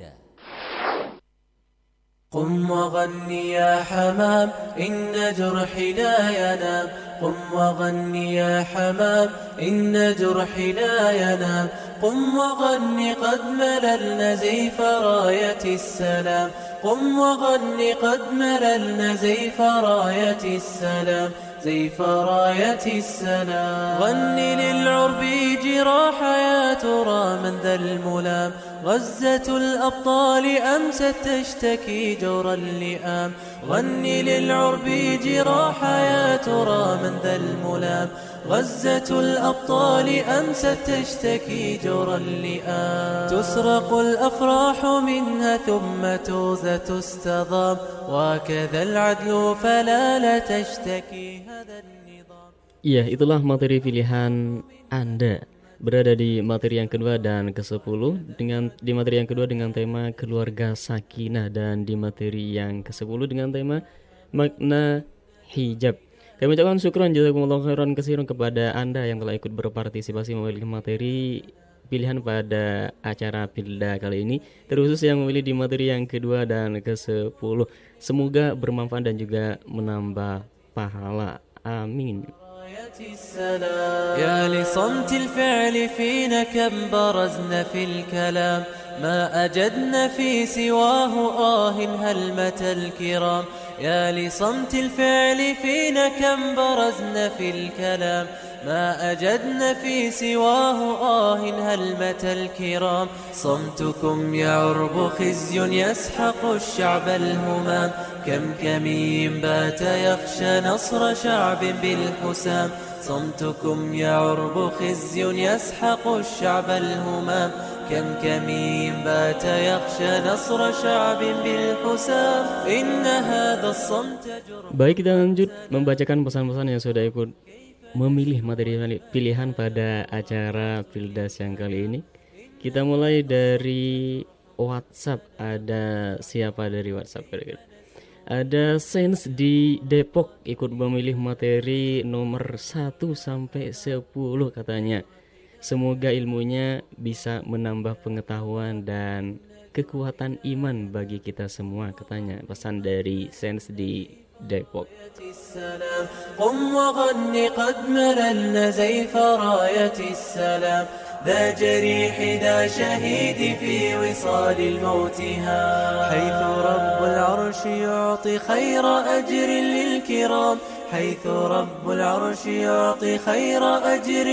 قم وغني يا حمام إن جرحي لا ينام قم وغني يا حمام إن جرحي لا ينام قم وغني قد مللنا زيف راية السلام قم وغني قد مللنا زيف راية السلام زيف راية السلام غني للعرب جراح يا ترى من ذا الملام غزة الأبطال أمست تشتكي جور اللئام غني للعرب جراح يا ترى من ذا الملام غزة الأبطال أمست تشتكي جور اللئام تسرق الأفراح منها ثم توزى تستضام وكذا العدل فلا لا تشتكي هذا النظام. Iya, itulah materi pilihan Anda berada di materi yang kedua dan kesepuluh dengan di materi yang kedua dengan tema keluarga sakinah dan di materi yang kesepuluh dengan tema makna hijab. Kami ucapkan syukran jazakumullahu khairan katsiran kepada Anda yang telah ikut berpartisipasi memilih materi pilihan pada acara Pilda kali ini, terkhusus yang memilih di materi yang kedua dan kesepuluh. Semoga bermanfaat dan juga menambah pahala. Amin. يا لصمت الفعل فينا كم برزنا في الكلام ما أجدنا في سواه آه هلمة الكرام يا لصمت الفعل فينا كم برزنا في الكلام ما أجدنا في سواه آه هلمة الكرام صمتكم يعرب خزي يسحق الشعب الهمام كم كمين بات يخشى نصر شعب بالحسام صمتكم يعرب خزي يسحق الشعب الهمام كم كمين بات يخشى نصر شعب بالحسام إن هذا الصمت جرم. Baik, kita lanjut membacakan pesan-pesan yang sudah ikut memilih materi pilihan pada acara Pildas yang kali ini. Kita mulai dari WhatsApp. Ada siapa dari WhatsApp kira-kira? Ada Sains di Depok ikut memilih materi nomor satu sampai sepuluh katanya. Semoga ilmunya bisa menambah pengetahuan dan kekuatan iman bagi kita semua katanya. Pesan dari Sains di Depok. قم وغن قد مللنا زيف راية السلام ذا جريح ذا شهيد في وصال الموتها حيث رب العرش يعطي خير أجر للكرام حيث رب العرش يعطي خير أجر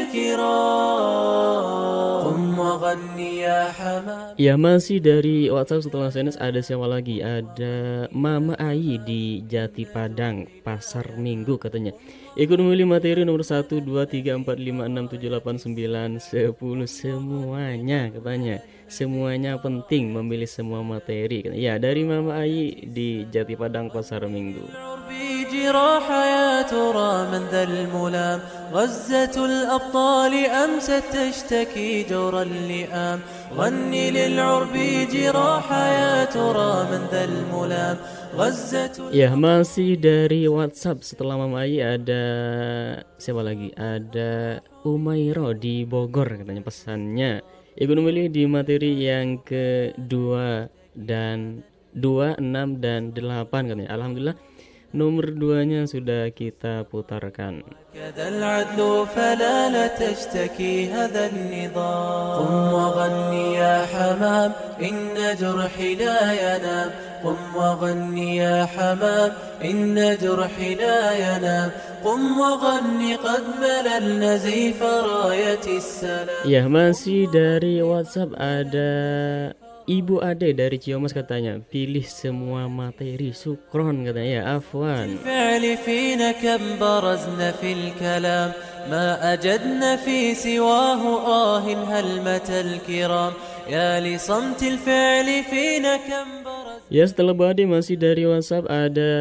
للكرام قم وغن يا حمام. Ya, masih dari WhatsApp setelah Senes ada siapa lagi? Ada Mama Ayi di Jati Padang, Pasar Minggu katanya. Ikut memilih materi nomor satu, dua, tiga, empat, lima, enam, tujuh, delapan, sembilan, sepuluh. Semuanya katanya. Semuanya penting memilih semua materi. Ya, dari Mama Ayi di Jati Padang, Pasar Minggu. جراح يا ترى من ذا الملام غزة الأبطال أمست تشتكي جور اللئام غني للعرب جراح يا ترى من ذا الملام غزة. Ya, masih dari WhatsApp setelah Mama Ayi ada siapa lagi? Ada Umairo di Bogor katanya pesannya. Ikut memilih di materi yang kedua dan dua, enam dan delapan katanya. Alhamdulillah nomor duanya sudah kita putarkan. كذا العدل فلا لا تشتكي هذا النظام قم وغني يا حمام إن جرحي لا ينام قم وغني يا حمام إن جرحي لا ينام قم وغني قد مللنا زيف راية السلام. Ya, masih dari WhatsApp ada Ibu Ade dari Ciamas katanya, pilih semua materi, syukron katanya. Ya, afwan. الفعل فينا كم برزنا في الكلام ما أجدنا في سواه آه هلمة الكرام يا لصمت الفعل فينا كم برزنا. Ya, setelah Bu Ade masih dari WhatsApp ada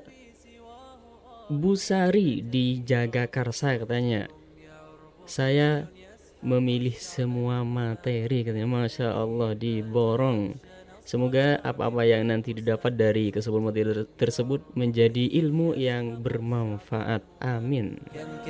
Bu Sari di Jagakarsa katanya. Saya memilih semua materi katanya. Masya Allah, diborong. Semoga apa-apa yang nanti didapat dari kesepuluh materi tersebut menjadi ilmu yang bermanfaat. Amin.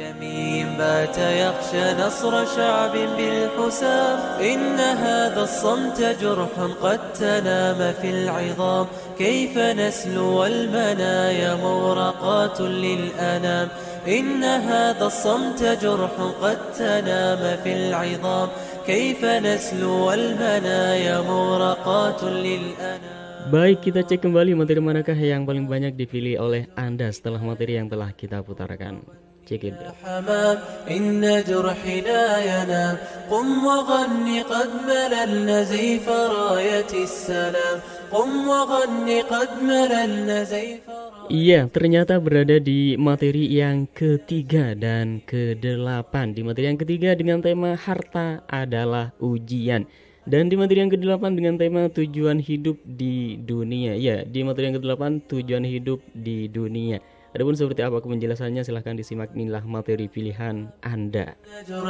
إن هذا الصمت جرح قد تنام في العظام كيف نسلو والمنايا مورقات للأنام. Baik, kita cek kembali materi manakah yang paling banyak dipilih oleh Anda setelah materi yang telah kita putarkan. Cek itu. إن جرحي لا ينام قم وغني قد مللنا زيف راية السلام قم وغني قد مللنا زيف. Iya, ternyata berada di materi yang ketiga dan kedelapan. Di materi yang ketiga dengan tema harta adalah ujian. Dan di materi yang kedelapan dengan tema tujuan hidup di dunia. Ya, di materi yang kedelapan tujuan hidup di dunia. Adapun seperti apa penjelasannya, silahkan disimak. Inilah materi pilihan Anda.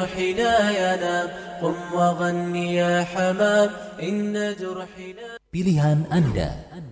Pilihan Anda.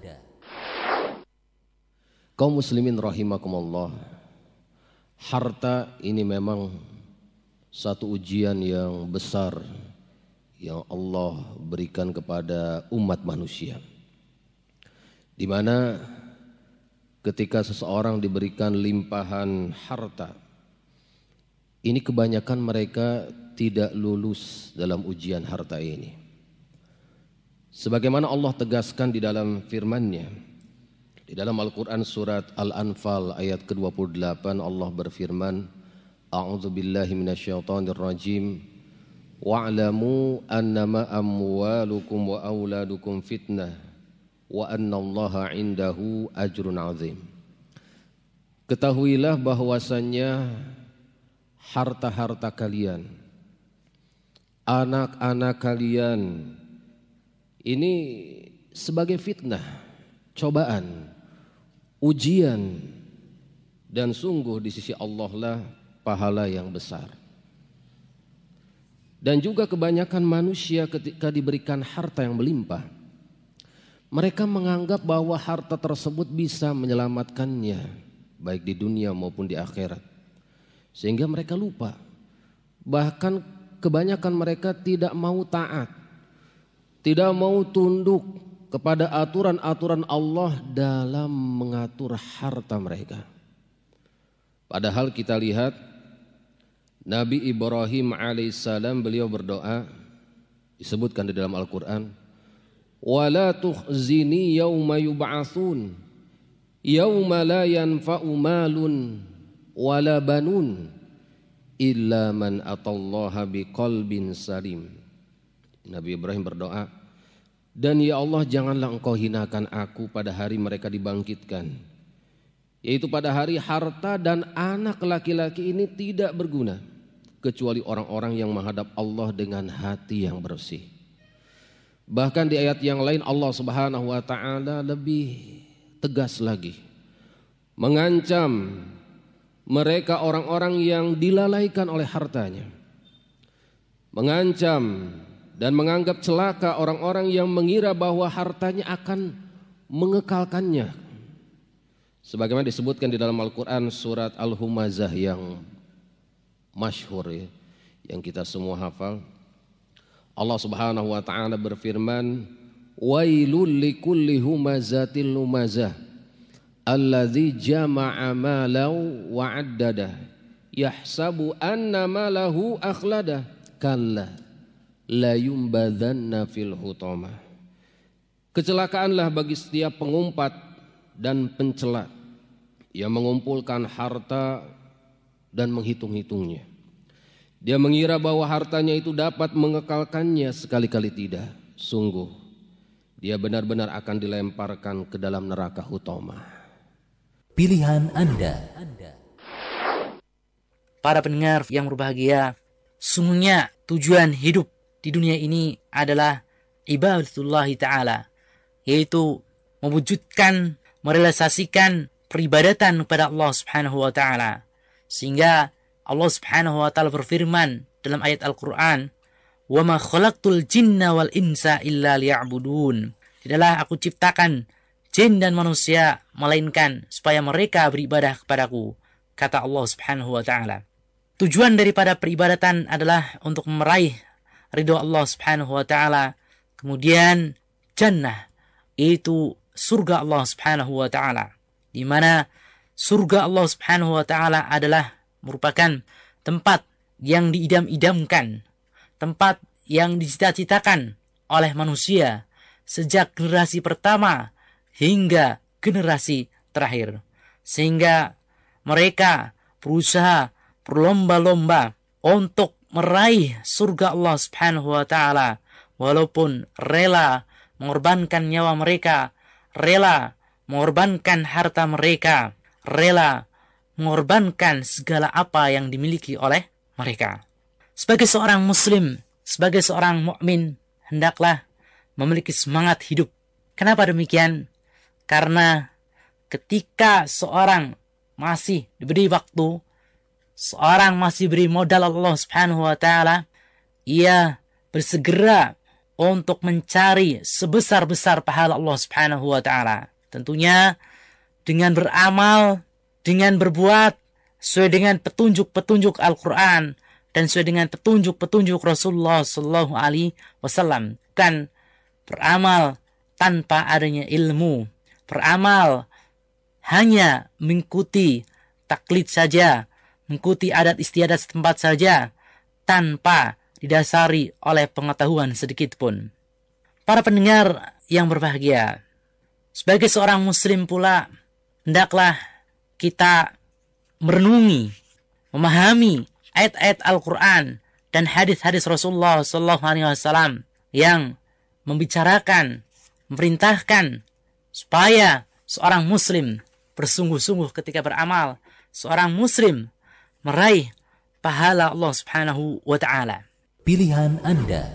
Kaum muslimin rahimakumullah, harta ini memang satu ujian yang besar yang Allah berikan kepada umat manusia, di mana ketika seseorang diberikan limpahan harta, ini kebanyakan mereka tidak lulus dalam ujian harta ini. Sebagaimana Allah tegaskan di dalam firman-Nya, di dalam Al-Quran surat Al-Anfal ayat ke dua puluh delapan, Allah berfirman, A'udzu billahi minasyaitonir rajim, wa'lamu annama amwalukum wa auladukum fitnah wa annallaha indahu ajrun azim. Ketahuilah bahwasannya harta-harta kalian, anak-anak kalian ini sebagai fitnah, cobaan, ujian, dan sungguh di sisi Allah lah pahala yang besar. Dan juga kebanyakan manusia ketika diberikan harta yang melimpah, mereka menganggap bahwa harta tersebut bisa menyelamatkannya baik di dunia maupun di akhirat, sehingga mereka lupa. Bahkan kebanyakan mereka tidak mau taat, tidak mau tunduk kepada aturan-aturan Allah dalam mengatur harta mereka. Padahal kita lihat Nabi Ibrahim alaihissalam, beliau berdoa, disebutkan di dalam Al-Quran, wala tukhzini yawma yub'atsun yawma la yanfa'u malun wala banun illa man atallaha biqalbin salim. Nabi Ibrahim berdoa, dan ya Allah, janganlah engkau hinakan aku pada hari mereka dibangkitkan, yaitu pada hari harta dan anak laki-laki ini tidak berguna kecuali orang-orang yang menghadap Allah dengan hati yang bersih. Bahkan di ayat yang lain Allah Subhanahu wa taala lebih tegas lagi mengancam mereka orang-orang yang dilalaikan oleh hartanya, mengancam dan menganggap celaka orang-orang yang mengira bahwa hartanya akan mengekalkannya. Sebagaimana disebutkan di dalam Al-Quran surat Al-Humazah yang masyhur ya, yang kita semua hafal. Allah Subhanahu wa taala berfirman, wailul likulli humazatil lumazah alladzi jama'a malau wa 'addada yahsabu anna malahu akhlada kalla la yumbadhanna fil hutama. Kecelakaanlah bagi setiap pengumpat dan pencela yang mengumpulkan harta dan menghitung-hitungnya. Dia mengira bahwa hartanya itu dapat mengekalkannya, sekali-kali tidak. Sungguh dia benar-benar akan dilemparkan ke dalam neraka hutama. Pilihan Anda. Para pendengar yang berbahagia, sungguhnya tujuan hidup di dunia ini adalah ibadatullah ta'ala, yaitu mewujudkan, merealisasikan peribadatan kepada Allah subhanahu wa ta'ala. Sehingga Allah subhanahu wa ta'ala berfirman dalam ayat Al-Quran, wa ma khalaqtul jinna wal insa illa liya'budun. Tidaklah aku ciptakan jin dan manusia melainkan supaya mereka beribadah kepadaku, kata Allah subhanahu wa ta'ala. Tujuan daripada peribadatan adalah untuk meraih ridho Allah subhanahu wa ta'ala, kemudian jannah, yaitu surga Allah subhanahu wa ta'ala, di mana surga Allah subhanahu wa ta'ala adalah merupakan tempat yang diidam-idamkan, tempat yang dicita-citakan oleh manusia sejak generasi pertama hingga generasi terakhir, sehingga mereka berusaha berlomba-lomba untuk meraih surga Allah subhanahu wa ta'ala, walaupun rela mengorbankan nyawa mereka, rela mengorbankan harta mereka, rela mengorbankan segala apa yang dimiliki oleh mereka. Sebagai seorang muslim, sebagai seorang mukmin, hendaklah memiliki semangat hidup. Kenapa demikian? Karena ketika seorang masih diberi waktu, seorang masih beri modal Allah Subhanahu wa taala, ia bersegera untuk mencari sebesar-besar pahala Allah Subhanahu wa taala. Tentunya dengan beramal, dengan berbuat sesuai dengan petunjuk-petunjuk Al-Qur'an dan sesuai dengan petunjuk-petunjuk Rasulullah sallallahu alaihi wasallam. Kan beramal tanpa adanya ilmu, beramal hanya mengikuti taklid saja, mengikuti adat istiadat setempat saja, tanpa didasari oleh pengetahuan sedikit pun. Para pendengar yang berbahagia, sebagai seorang muslim pula, hendaklah kita merenungi, memahami ayat-ayat Al-Quran dan hadis-hadis Rasulullah sallallahu alaihi wasallam yang membicarakan, memerintahkan supaya seorang muslim bersungguh-sungguh ketika beramal, seorang muslim meraih pahala Allah Subhanahu wa taala. Pilihan Anda.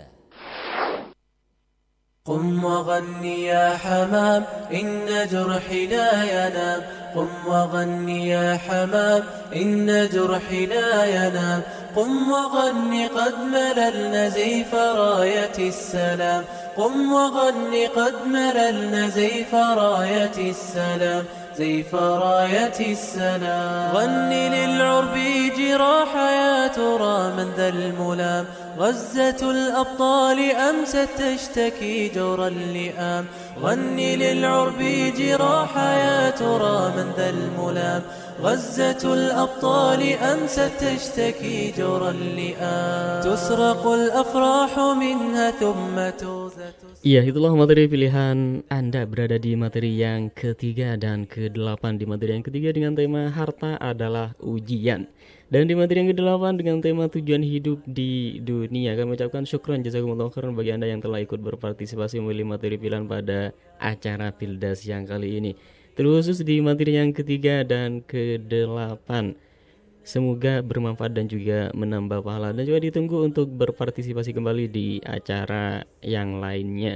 قم وغني يا حمام إن جرحي لا ينام قم وغني يا حمام إن جرحي لا ينام قم وغني قد مللنا زيف راية السلام قم وغني قد مللنا زيف راية السلام زيف راية السلام غني للعرب جراح يا ترى من ذا الملام غزة الأبطال أمست تشتكي جور اللئام غني للعرب جراح يا ترى من ذا الملام غزة الأبطال أمست تشتكي جور اللئام تسرق الأفراح منها ثم توزة. Iya, itulah materi pilihan Anda berada di materi yang ketiga dan kedelapan. Di materi yang ketiga dengan tema harta adalah ujian, dan di materi yang kedelapan dengan tema tujuan hidup di dunia. Kami ucapkan syukran jazakumullah khairan bagi Anda yang telah ikut berpartisipasi memilih materi pilihan pada acara Pildas yang kali ini, terkhusus di materi yang ketiga dan kedelapan. Semoga bermanfaat dan juga menambah pahala, dan juga ditunggu untuk berpartisipasi kembali di acara yang lainnya.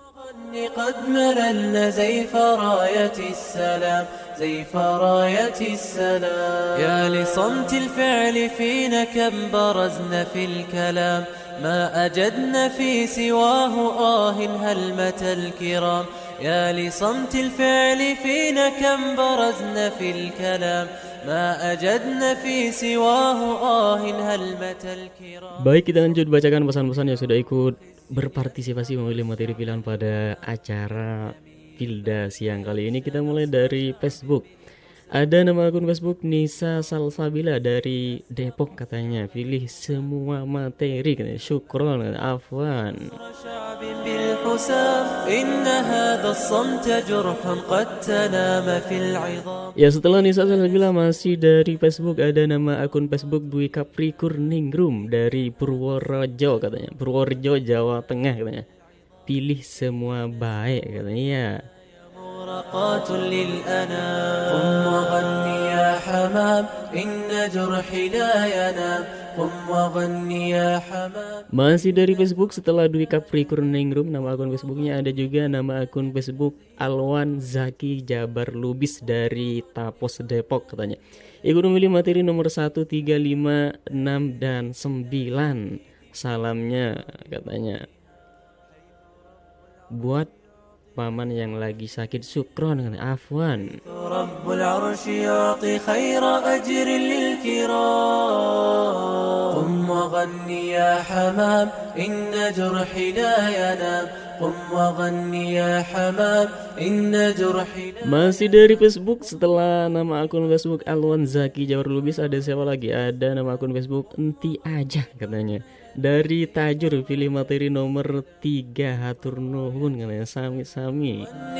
قد مللنا زيف راية السلام زيف راية السلام يا لصمت الفعل فينا كم برزنا في الكلام ما أجدنا في سواه آه هلمة الكرام يا لصمت الفعل فينا كم برزنا في الكلام ما أجدنا في سواه آه هلمة الكرام. Baik, kita lanjut bacakan pesan-pesan yang sudah ikut berpartisipasi memilih materi pilihan pada acara Pildas yang kali ini. Kita mulai dari Facebook. Ada nama akun Facebook Nisa Salsabila dari Depok, katanya pilih semua materi, katanya syukron, afwan. Ya, setelah Nisa Salsabila masih dari Facebook, ada nama akun Facebook Dwi Capricorningrum dari Purworejo, katanya Purworejo, Jawa Tengah, katanya pilih semua baik, katanya ya. مرقات للأنام قم وغني يا حمام إن جرحي لا ينام قم وغني يا حمام. Masih dari Facebook, setelah Dwi Capricorningrum, nama akun Facebooknya ada juga nama akun Facebook Alwan Zaki Jabar Lubis dari Tapos Depok, katanya ikut memilih materi nomor satu, tiga, lima, enam, dan sembilan. Salamnya, katanya buat paman yang lagi sakit, syukron, kan afwan. Rabbul Arsy yu'ti khaira ajrin lil kiram qum wa ghanni ya hamam inna jurhi la yanam qum wa ghanni ya hamam inna jurhi la. Masih dari Facebook, setelah nama akun Facebook Alwan Zaki Jawar Lubis, ada siapa lagi? Ada nama akun Facebook Enti Aja, katanya dari Tajur, pilih materi nomor tiga, hatur nuhun, katanya sami-sami.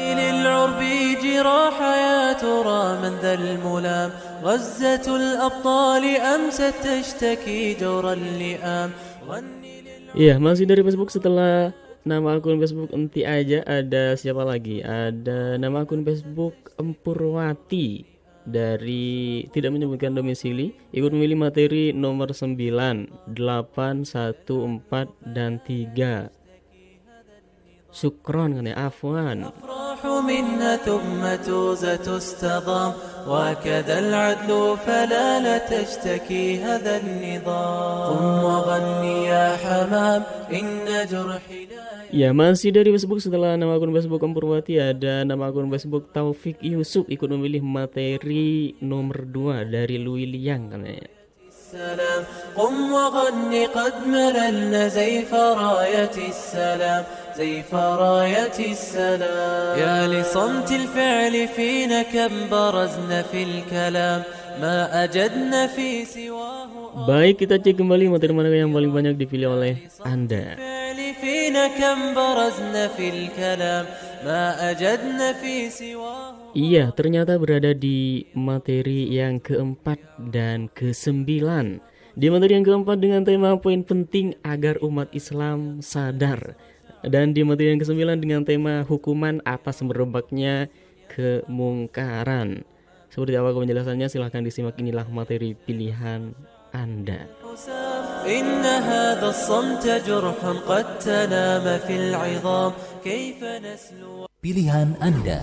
Iya, masih dari Facebook, setelah nama akun Facebook Enti Aja, ada siapa lagi? Ada nama akun Facebook Empurwati dari tidak menyebutkan domisili, ikut memilih materi nomor sembilan, delapan, satu, empat, dan tiga. Syukron, kan ya afwan. وكذا العدل فلا لا تشتكي هذا النظام قم وغني يا حمام إن جرحي Ya, masih dari Facebook. Setelah nama akun Facebook Purwati, ada nama akun Facebook Taufik Yusuf ikut memilih materi nomor dua dari Louis Liang katanya. السلام قم وغني قد مللنا زيف راية السلام زيف راية السلام يا لصمت الفعل فينا كم برزنا في الكلام ما أجدنا في سواه. Baik, kita cek kembali materi mana yang paling banyak dipilih oleh Anda. Iya, ternyata berada di materi yang keempat dan kesembilan. Di materi yang keempat dengan tema poin penting agar umat Islam sadar. Dan di materi yang kesembilan dengan tema hukuman atas merebaknya kemungkaran. Seperti apa penjelasannya? Silahkan disimak, inilah materi pilihan Anda. Pilihan Anda.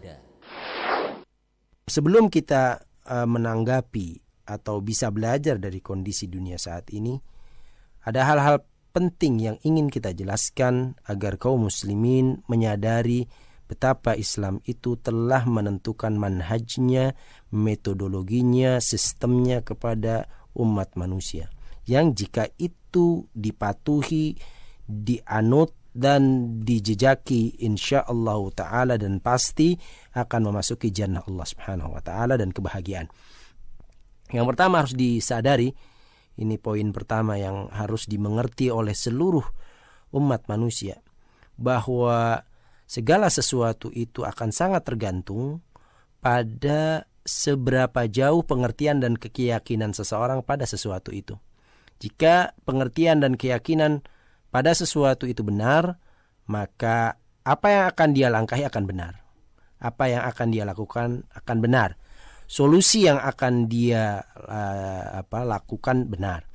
Sebelum kita uh, menanggapi atau bisa belajar dari kondisi dunia saat ini, ada hal-hal penting yang ingin kita jelaskan agar kaum muslimin menyadari betapa Islam itu telah menentukan manhajnya, metodologinya, sistemnya kepada umat manusia, yang jika itu dipatuhi, dianut dan dijejaki, insyaallah ta'ala dan pasti akan memasuki jannah Allah subhanahu wa ta'ala dan kebahagiaan. Yang pertama harus disadari, ini poin pertama yang harus dimengerti oleh seluruh umat manusia, bahwa segala sesuatu itu akan sangat tergantung pada seberapa jauh pengertian dan keyakinan seseorang pada sesuatu itu. Jika pengertian dan keyakinan pada sesuatu itu benar, maka apa yang akan dia langkahi akan benar. Apa yang akan dia lakukan akan benar. Solusi yang akan dia uh, apa, lakukan benar.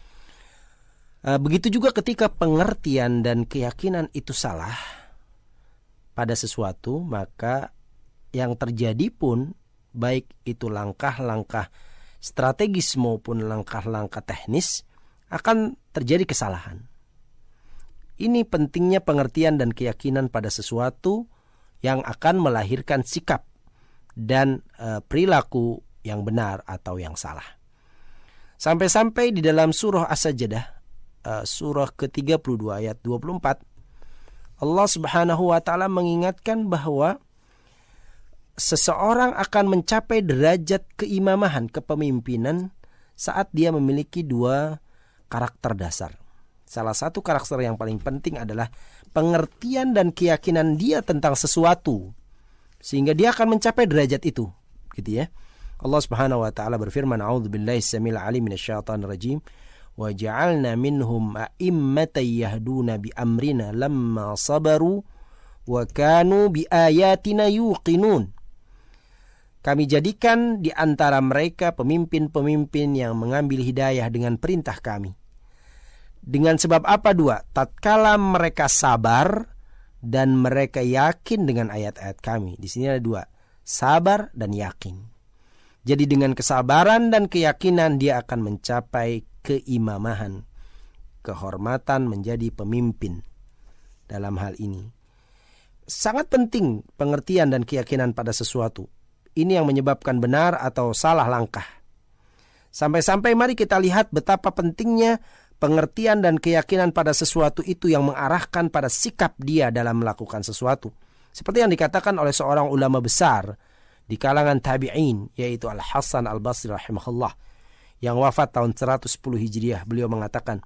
Uh, begitu juga ketika pengertian dan keyakinan itu salah pada sesuatu, maka yang terjadi pun baik itu langkah-langkah strategis maupun langkah-langkah teknis akan terjadi kesalahan. Ini pentingnya pengertian dan keyakinan pada sesuatu yang akan melahirkan sikap dan e, perilaku yang benar atau yang salah. Sampai-sampai di dalam surah As-Sajdah, e, surah ke tiga puluh dua ayat dua puluh empat, Allah Subhanahu wa taala mengingatkan bahwa seseorang akan mencapai derajat keimamahan, kepemimpinan saat dia memiliki dua karakter dasar. Salah satu karakter yang paling penting adalah pengertian dan keyakinan dia tentang sesuatu, sehingga dia akan mencapai derajat itu, gitu ya. Allah Subhanahu wa taala berfirman, "A'udzubillahi samil alim minasyaitonir rajim, wa ja'alna minhum a'immatan yahduna bi amrina lamma sabaru wa kanu bi ayatina yuqinun." Kami jadikan di antara mereka pemimpin-pemimpin yang mengambil hidayah dengan perintah kami. Dengan sebab apa dua? Tatkala mereka sabar dan mereka yakin dengan ayat-ayat kami. Di sini ada dua, sabar dan yakin. Jadi dengan kesabaran dan keyakinan dia akan mencapai keimamahan, kehormatan menjadi pemimpin dalam hal ini. Sangat penting pengertian dan keyakinan pada sesuatu. Ini yang menyebabkan benar atau salah langkah. Sampai-sampai mari kita lihat betapa pentingnya pengertian dan keyakinan pada sesuatu itu yang mengarahkan pada sikap dia dalam melakukan sesuatu. Seperti yang dikatakan oleh seorang ulama besar di kalangan tabi'in, yaitu Al-Hasan Al-Basri rahimahullah, yang wafat tahun seratus sepuluh Hijriah. Beliau mengatakan,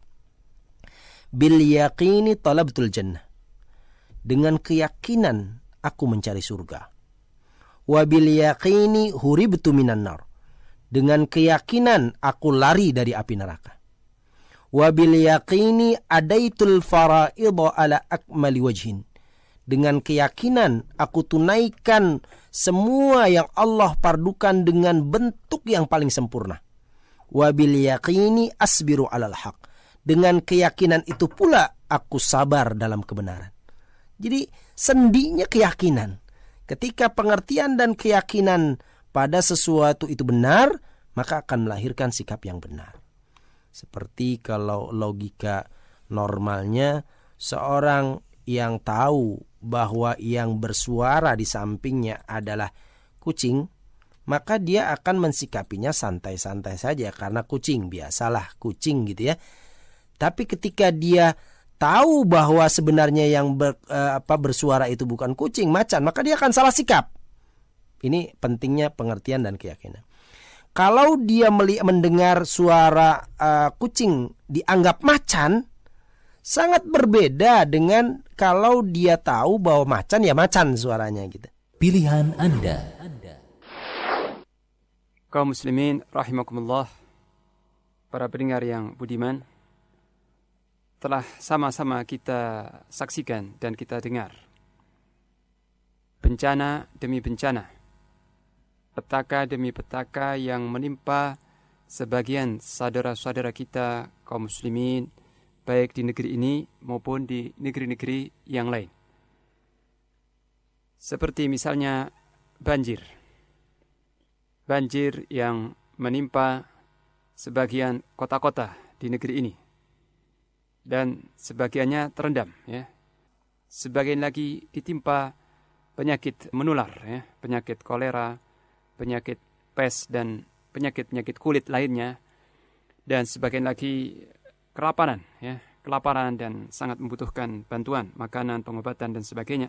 "Bil yaqini talabtul jannah." Dengan keyakinan aku mencari surga. Wa bil yaqini huribtu minan nar. Dengan keyakinan aku lari dari api neraka. Wa bil yaqini adaitul fara'idha ala akmali wajhin. Dengan keyakinan aku tunaikan semua yang Allah pardukan dengan bentuk yang paling sempurna. Wa bil yaqini asbiru alal haq. Dengan keyakinan itu pula aku sabar dalam kebenaran. Jadi sendinya keyakinan. Ketika pengertian dan keyakinan pada sesuatu itu benar, maka akan melahirkan sikap yang benar. Seperti kalau logika normalnya, seorang yang tahu bahwa yang bersuara di sampingnya adalah kucing, maka dia akan mensikapinya santai-santai saja karena kucing, biasalah kucing gitu ya. Tapi ketika dia tahu bahwa sebenarnya yang ber, eh, apa bersuara itu bukan kucing, macan, maka dia akan salah sikap. Ini pentingnya pengertian dan keyakinan. Kalau dia melihat mendengar suara uh, kucing dianggap macan, sangat berbeda dengan kalau dia tahu bahwa macan ya macan suaranya gitu. Pilihan Anda. Kaum muslimin rahimakumullah, para pendengar yang budiman, telah sama-sama kita saksikan dan kita dengar bencana demi bencana, petaka demi petaka yang menimpa sebagian saudara-saudara kita kaum muslimin, baik di negeri ini maupun di negeri-negeri yang lain. Seperti misalnya banjir. Banjir yang menimpa sebagian kota-kota di negeri ini. Dan sebagiannya terendam, ya. Sebagian lagi ditimpa penyakit menular, ya, penyakit kolera, penyakit pes dan penyakit-penyakit kulit lainnya, dan sebagian lagi kelaparan, ya, kelaparan dan sangat membutuhkan bantuan, makanan, pengobatan dan sebagainya.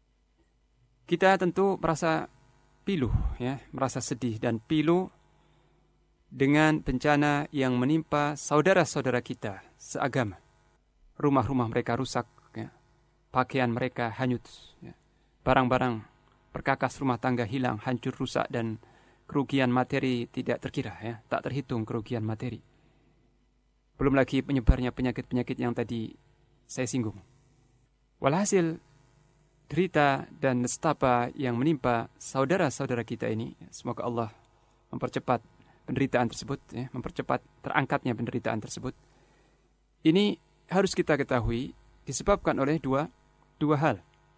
Kita tentu merasa pilu, ya, merasa sedih dan pilu dengan bencana yang menimpa saudara-saudara kita seagama. Rumah-rumah mereka rusak, ya, pakaian mereka hanyut, ya, barang-barang perkakas rumah tangga hilang, hancur, rusak, dan kerugian materi tidak terkira, ya, tak terhitung kerugian materi. Belum lagi penyebarnya penyakit-penyakit yang tadi saya singgung. Walhasil, derita dan nestapa yang menimpa saudara-saudara kita ini, semoga Allah mempercepat penderitaan tersebut, ya, mempercepat terangkatnya penderitaan tersebut. Ini harus kita ketahui disebabkan oleh dua dua hal.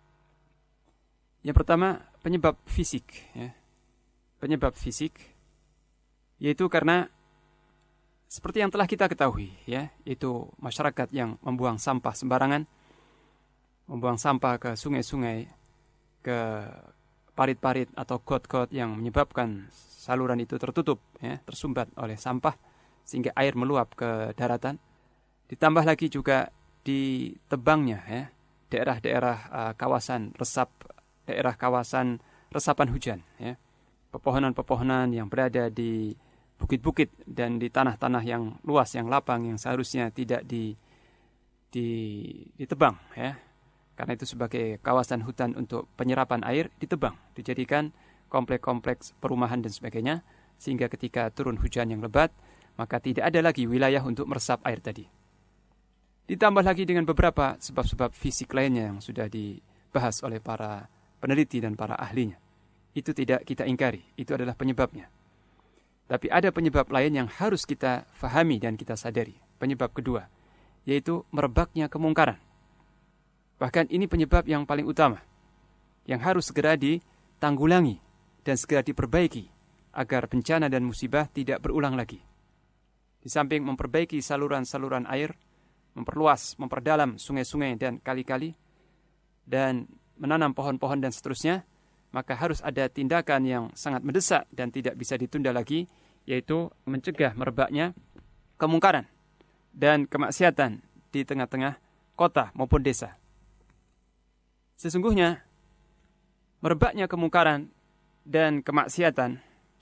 Yang pertama, penyebab fisik, ya. Penyebab fisik yaitu karena seperti yang telah kita ketahui, ya, yaitu masyarakat yang membuang sampah sembarangan, membuang sampah ke sungai-sungai, ke parit-parit atau got-got yang menyebabkan saluran itu tertutup, ya, tersumbat oleh sampah sehingga air meluap ke daratan. Ditambah lagi juga ditebangnya, ya, daerah-daerah uh, kawasan resap, daerah kawasan resapan hujan, ya, pepohonan-pepohonan yang berada di bukit-bukit dan di tanah-tanah yang luas, yang lapang, yang seharusnya tidak di, di, ditebang, ya, karena itu sebagai kawasan hutan untuk penyerapan air, ditebang, dijadikan kompleks-kompleks perumahan dan sebagainya, sehingga ketika turun hujan yang lebat, maka tidak ada lagi wilayah untuk meresap air tadi. Ditambah lagi dengan beberapa sebab-sebab fisik lainnya yang sudah dibahas oleh para peneliti dan para ahlinya. Itu tidak kita ingkari, itu adalah penyebabnya. Tapi ada penyebab lain yang harus kita fahami dan kita sadari. Penyebab kedua, yaitu merebaknya kemungkaran. Bahkan ini penyebab yang paling utama, yang harus segera ditanggulangi dan segera diperbaiki agar bencana dan musibah tidak berulang lagi. Di samping memperbaiki saluran-saluran air, memperluas, memperdalam sungai-sungai dan kali-kali, dan menanam pohon-pohon dan seterusnya, maka harus ada tindakan yang sangat mendesak dan tidak bisa ditunda lagi, yaitu mencegah merebaknya kemungkaran dan kemaksiatan di tengah-tengah kota maupun desa. Sesungguhnya, merebaknya kemungkaran dan kemaksiatan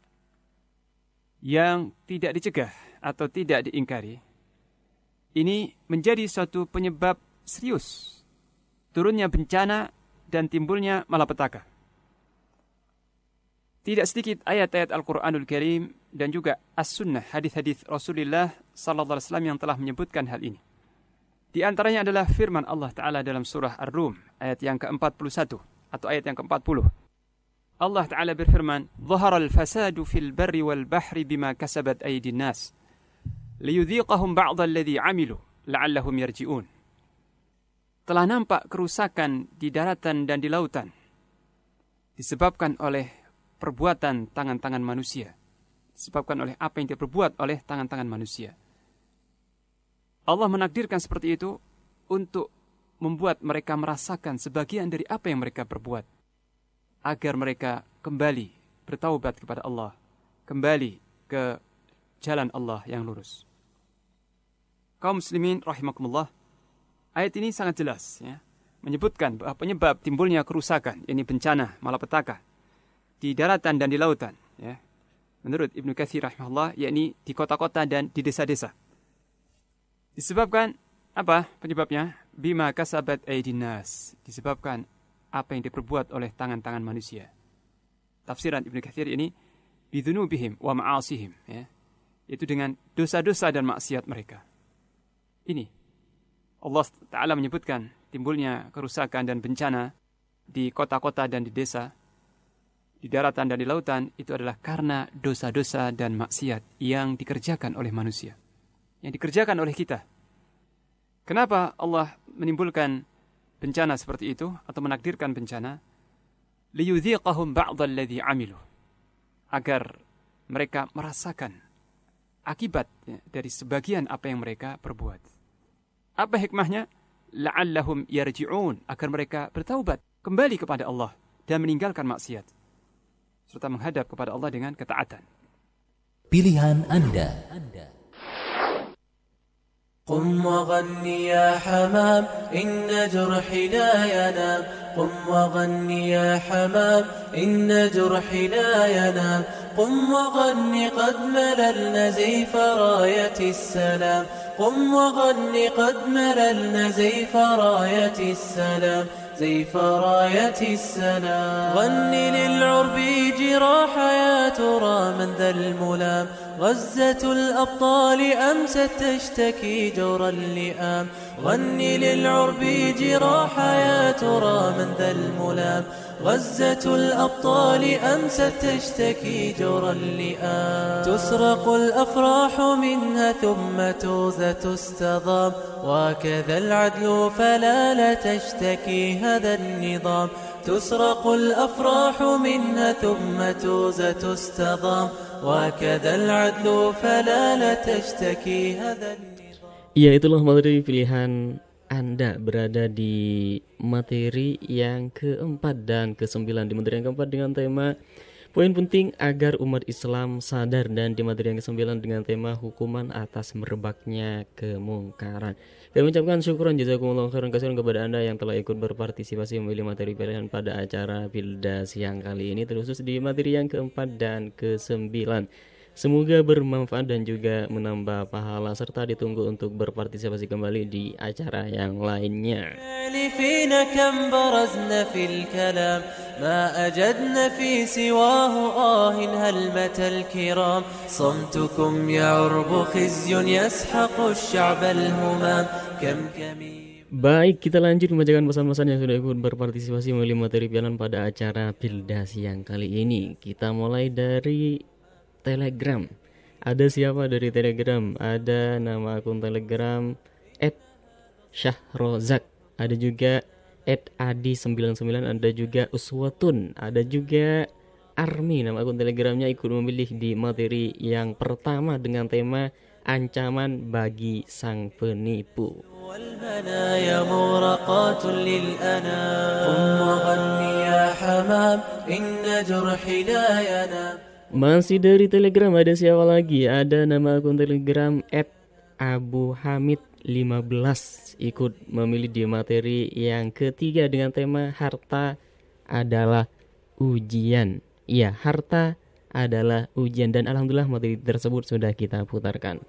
yang tidak dicegah atau tidak diingkari, ini menjadi suatu penyebab serius turunnya bencana dan timbulnya malapetaka. Tidak sedikit ayat-ayat Al-Quranul Karim dan juga As-Sunnah, hadis-hadis Rasulullah sallallahu alaihi wasallam yang telah menyebutkan hal ini. Di antaranya adalah firman Allah Ta'ala dalam surah Ar-Rum, ayat yang keempat puluh satu atau ayat yang keempat puluh. Allah Ta'ala berfirman, "Zaharal fasadu fil barri wal bahri bima kasabat aydin nas, liyudhiqahum ba'dha alladhi 'amilu la'allahum yarji'un." Telah nampak kerusakan di daratan dan di lautan disebabkan oleh perbuatan tangan-tangan manusia. Disebabkan oleh apa yang diperbuat oleh tangan-tangan manusia. Allah menakdirkan seperti itu untuk membuat mereka merasakan sebagian dari apa yang mereka perbuat. Agar mereka kembali bertaubat kepada Allah. Kembali ke jalan Allah yang lurus. Kaum muslimin rahimakumullah, ayat ini sangat jelas ya, menyebutkan bahwa penyebab timbulnya kerusakan, yakni bencana malapetaka di daratan dan di lautan ya. Menurut Ibnu Katsir rahimahullah, yakni di kota-kota dan di desa-desa. Disebabkan apa penyebabnya? Bima kasabat aydin nas, disebabkan apa yang diperbuat oleh tangan-tangan manusia. Tafsiran Ibnu Katsir ini bidzunubihim wa ma'asihim ya. Itu dengan dosa-dosa dan maksiat mereka. Ini Allah Ta'ala menyebutkan timbulnya kerusakan dan bencana di kota-kota dan di desa, di daratan dan di lautan, itu adalah karena dosa-dosa dan maksiat yang dikerjakan oleh manusia, yang dikerjakan oleh kita. Kenapa Allah menimbulkan bencana seperti itu atau menakdirkan bencana? Liyudhiqahum ba'dalladzi 'amilu, agar mereka merasakan akibat ya, dari sebagian apa yang mereka perbuat. Apa hikmahnya? La'allahum yarji'un, agar mereka bertaubat, kembali kepada Allah dan meninggalkan maksiat serta menghadap kepada Allah dengan ketaatan. Pilihan Anda. قم وغني يا حمام إن جرحي لا ينام قم وغني يا حمام إن جرحي لا ينام قم وغني قد مللنا زيف راية السلام قم وغني قد مللنا زيف راية السلام زيف راية السلام غني للعرب جراح يا ترى من ذا الملام غزة الأبطال أمست تشتكي جور اللئام غني للعرب جراح يا ترى من ذا الملام غزة الأبطال أمست تشتكي جور اللئام تسرق الأفراح منها ثم توزة تستضام وكذا العدل فلا لا تشتكي هذا النظام تسرق الأفراح منها ثم توزة تستضام وكذا العدل فلا لا تشتكي هذا النظام. Ya, itulah materi pilihan Anda berada di materi yang keempat dan kesembilan. Di materi yang keempat dengan tema poin penting agar umat Islam sadar, dan di materi yang kesembilan dengan tema hukuman atas merebaknya kemungkaran. Kami ucapkan syukuran jazakumullah khairan katsiran kepada Anda yang telah ikut berpartisipasi memilih materi pilihan pada acara Pilda siang kali ini, terkhusus di materi yang keempat dan kesembilan. Semoga bermanfaat dan juga menambah pahala, serta ditunggu untuk berpartisipasi kembali di acara yang lainnya. Baik, kita lanjut membacakan pesan-pesan yang sudah ikut berpartisipasi memilih materi pilihan pada acara Pilda siang kali ini. Kita mulai dari Telegram. Ada siapa dari Telegram? Ada nama akun Telegram et syahrozak, ada juga et adi sembilan sembilan, ada juga uswatun, ada juga Army. Nama akun Telegramnya ikut memilih di materi yang pertama dengan tema ancaman bagi sang penipu. Masih dari Telegram ada siapa lagi? Ada nama akun Telegram et abu hamid lima belas ikut memilih di materi yang ketiga dengan tema harta adalah ujian. Iya, harta adalah ujian, dan alhamdulillah materi tersebut sudah kita putarkan.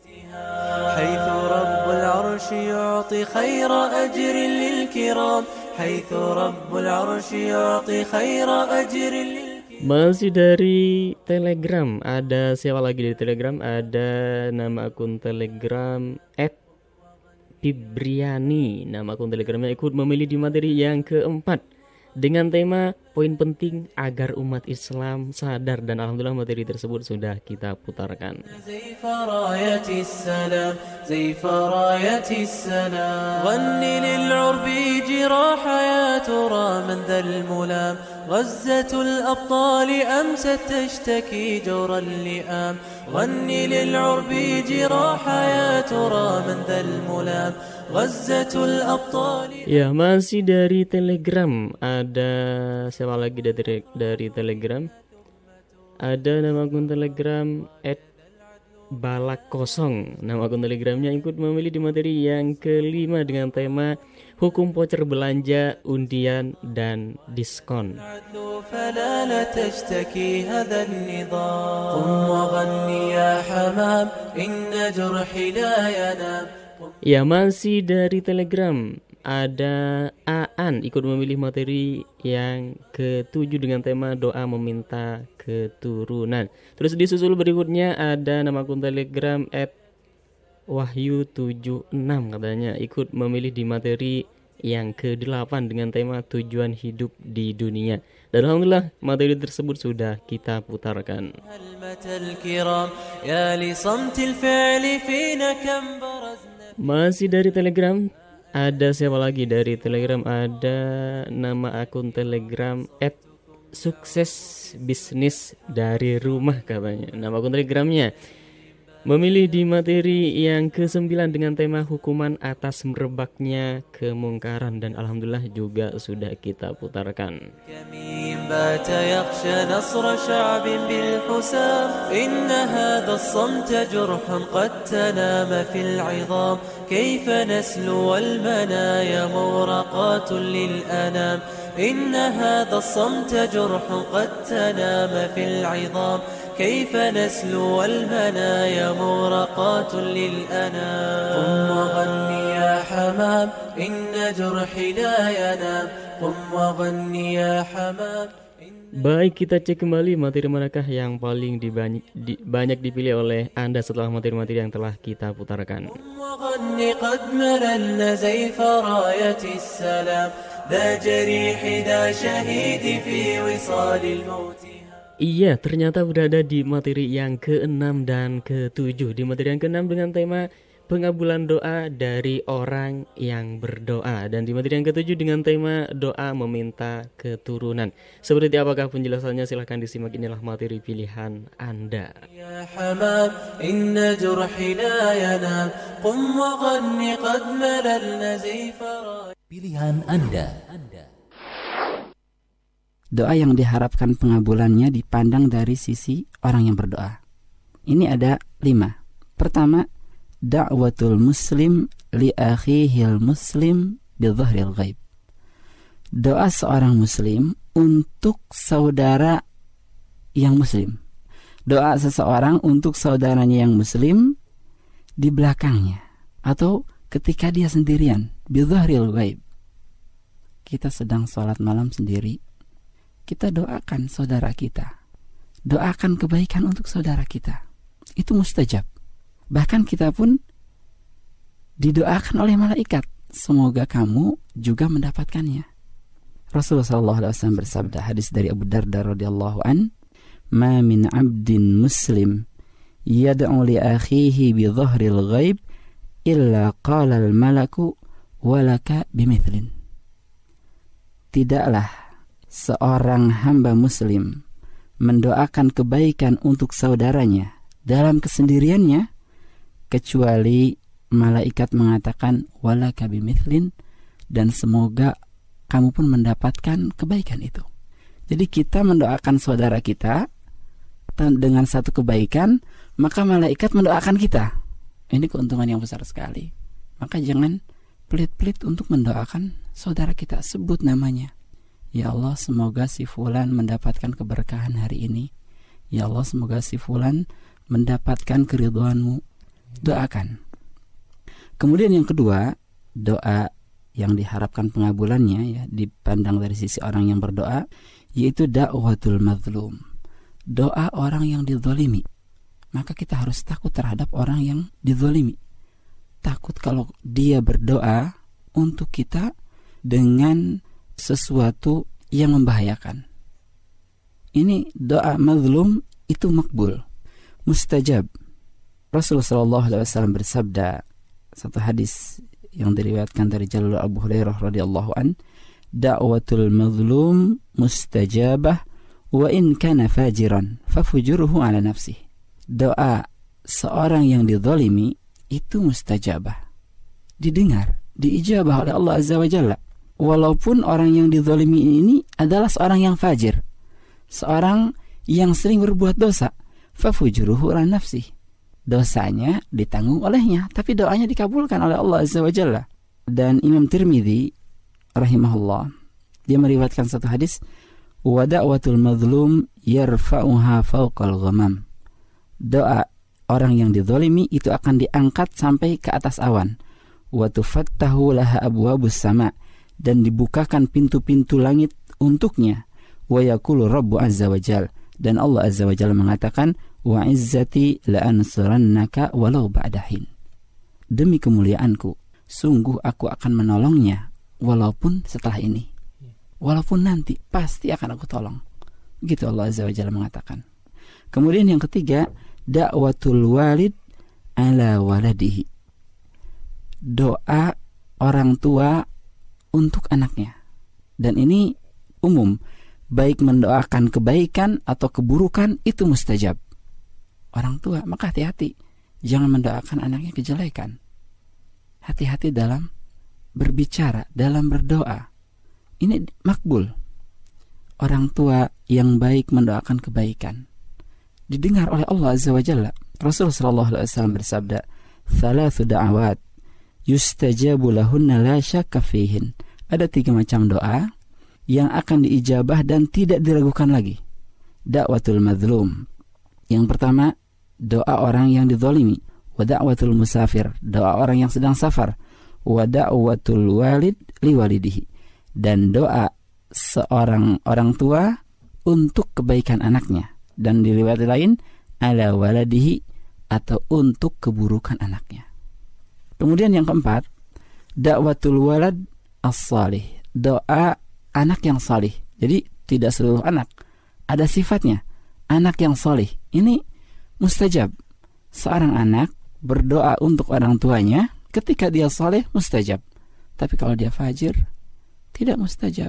Masih dari Telegram ada siapa lagi di Telegram? Ada nama akun Telegram et pibriani. Nama akun Telegramnya ikut memilih di materi yang keempat dengan tema poin penting agar umat Islam sadar, dan alhamdulillah materi tersebut sudah kita putarkan. غزة الأبطال أمست تشتكي جور اللئام غني للعرب جراح يا ترى من ذا الملام غزة الأبطال. Ya, masih dari Telegram. Ada siapa lagi dari dari Telegram? Ada nama akun Telegram et balak kosong. Nama akun Telegramnya ikut memilih di materi yang kelima dengan tema hukum voucher belanja, undian dan diskon. Ya, masih dari Telegram. Ada Aan ikut memilih materi yang ketujuh dengan tema doa meminta keturunan. Terus disusul berikutnya ada nama akun Telegram et wahyu tujuh enam katanya ikut memilih di materi yang kedelapan dengan tema tujuan hidup di dunia. Dan alhamdulillah materi tersebut sudah kita putarkan. Masih dari Telegram. Ada siapa lagi dari Telegram? Ada nama akun Telegram et sukses bisnis dari rumah katanya. Nama akun Telegramnya memilih di materi yang kesembilan dengan tema hukuman atas merebaknya kemungkaran, dan alhamdulillah juga sudah kita putarkan. كيف نسلو المنايا مورقات للأنام إن هذا الصمت جرح قد تنام في العظام كيف نسلو المنايا مورقات للأنام قم وغني يا حمام إن جرحي لا ينام قم وغني يا حمام. Baik, kita cek kembali materi manakah yang paling dibany- di, banyak dipilih oleh Anda setelah materi-materi yang telah kita putarkan. Iya, ternyata berada di materi yang keenam dan ketujuh. Di materi yang keenam dengan tema pengabulan doa dari orang yang berdoa, dan di materi yang ketujuh dengan tema doa meminta keturunan. Seperti apakah penjelasannya? Silahkan disimak, inilah materi pilihan Anda. Ya hamam, inna jurhi la yanam, qum wa ghanni qad malalna zifara. Pilihan Anda. Doa yang diharapkan pengabulannya dipandang dari sisi orang yang berdoa. Ini ada lima. Pertama, da'watul muslim li akhihil muslim bidhahril ghaib. Doa seorang muslim untuk saudara yang muslim. Doa seseorang untuk saudaranya yang muslim di belakangnya atau ketika dia sendirian, bidhahril ghaib. Kita sedang sholat malam sendiri, kita doakan saudara kita. Doakan kebaikan untuk saudara kita. Itu mustajab. Bahkan kita pun didoakan oleh malaikat, semoga kamu juga mendapatkannya. Rasulullah shallallahu alaihi wasallam bersabda, hadis dari Abu Darda radhiyallahu an, "Ma min 'abdin muslim yad'u li akhihi bi dhahril ghaib illa qala al malaku walaka bimithlin." Tidaklah seorang hamba muslim mendoakan kebaikan untuk saudaranya dalam kesendiriannya kecuali malaikat mengatakan walaka bimithlin, dan semoga kamu pun mendapatkan kebaikan itu. Jadi kita mendoakan saudara kita dengan satu kebaikan, maka malaikat mendoakan kita. Ini keuntungan yang besar sekali. Maka jangan pelit-pelit untuk mendoakan saudara kita. Sebut namanya. Ya Allah, semoga si fulan mendapatkan keberkahan hari ini. Ya Allah, semoga si fulan mendapatkan keridhaan-Mu. Doakan. Kemudian yang kedua, doa yang diharapkan pengabulannya ya dipandang dari sisi orang yang berdoa, yaitu da'watul mazlum. Doa orang yang dizalimi. Maka kita harus takut terhadap orang yang dizalimi. Takut kalau dia berdoa untuk kita dengan sesuatu yang membahayakan. Ini doa mazlum itu makbul, mustajab. Rasulullah shallallahu alaihi wasallam bersabda, satu hadis yang diriwayatkan dari jalur Abu Hurairah radhiyallahu an, da'watul mazlum mustajabah wa in kana fajiran fafujuruhu ala nafsih. Doa seorang yang dizalimi itu mustajabah, didengar, diijabah oleh Allah Azza wa Jalla. Walaupun orang yang dizalimi ini adalah seorang yang fajir, seorang yang sering berbuat dosa, fafujuruhu ala nafsih. Dosanya ditanggung olehnya, tapi doanya dikabulkan oleh Allah Azza wa Jalla. Dan Imam Tirmidzi rahimahullah, dia meriwayatkan satu hadis, wa da'watul mazlum yarfa'uha fawqal ghamam. Doa orang yang dizalimi itu akan diangkat sampai ke atas awan. Wa tufattahu laha abwabus sama, dan dibukakan pintu-pintu langit untuknya. Wa yaqulu rabbu azza wa jal, dan Allah azza wa jalla mengatakan, wa izzati la ansurannaka walau ba'dahin. Demi kemuliaanku, sungguh aku akan menolongnya walaupun setelah ini, walaupun nanti pasti akan aku tolong. Begitu Allah azza wa jalla mengatakan. Kemudian yang ketiga, da'watul walid ala waladihi. Doa orang tua untuk anaknya. Dan ini umum, baik mendoakan kebaikan atau keburukan itu mustajab. Orang tua, maka hati-hati, jangan mendoakan anaknya kejelekan. Hati-hati dalam berbicara, dalam berdoa. Ini makbul. Orang tua yang baik mendoakan kebaikan, didengar oleh Allah Azza wa Jalla. Rasul sallallahu alaihi wasallam bersabda, "Thalathu da'awat yustajabu lahunna la syakka fihin." Ada tiga macam doa yang akan diijabah dan tidak diragukan lagi. Da'watul mazlum. Yang pertama, doa orang yang dizalimi. Wa da'watul musafir, doa orang yang sedang safar. Wa da'watul walid liwalidihi, dan doa seorang orang tua untuk kebaikan anaknya. Dan di riwayat lain, ala waladihi, atau untuk keburukan anaknya. Kemudian yang keempat, da'watul walad as-salih, doa anak yang salih. Jadi tidak seluruh anak, ada sifatnya. Anak yang salih ini mustajab. Seorang anak berdoa untuk orang tuanya ketika dia saleh, mustajab. Tapi kalau dia fajir, tidak mustajab.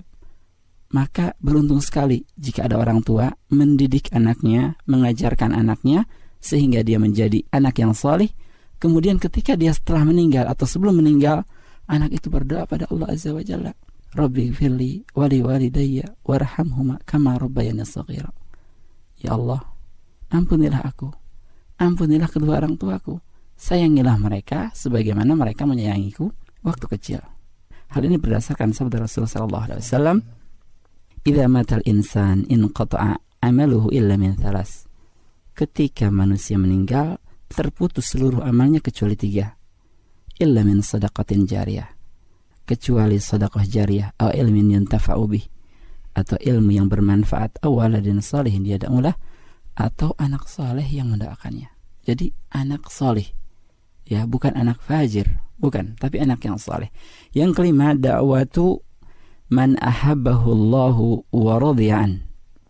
Maka beruntung sekali jika ada orang tua mendidik anaknya, mengajarkan anaknya sehingga dia menjadi anak yang saleh. Kemudian ketika dia setelah meninggal atau sebelum meninggal, anak itu berdoa pada Allah Azza wa Jalla, Rabbi firli wali walidayya warhamhuma kama rabbayani shaghira. Ya Allah, ampunilah aku, ampunilah kedua orang tuaku, sayangilah mereka sebagaimana mereka menyayangiku waktu kecil. Hal ini berdasarkan sabda Rasulullah sallallahu alaihi wasallam, idza matal insan inqata'a amaluhu illa min thalas. Ketika manusia meninggal, terputus seluruh amalnya kecuali tiga. Illa min sadaqatin jariyah, kecuali sedekah jariyah, atau ilmin yuntafa'u bih, atau ilmu yang bermanfaat, atau waladin salihin yad'ulah, atau anak saleh yang mendoakannya. Jadi anak saleh, ya, bukan anak fajir, bukan, tapi anak yang saleh. Yang kelima, da'watu man ahabbahu Allahu wa radiya'an,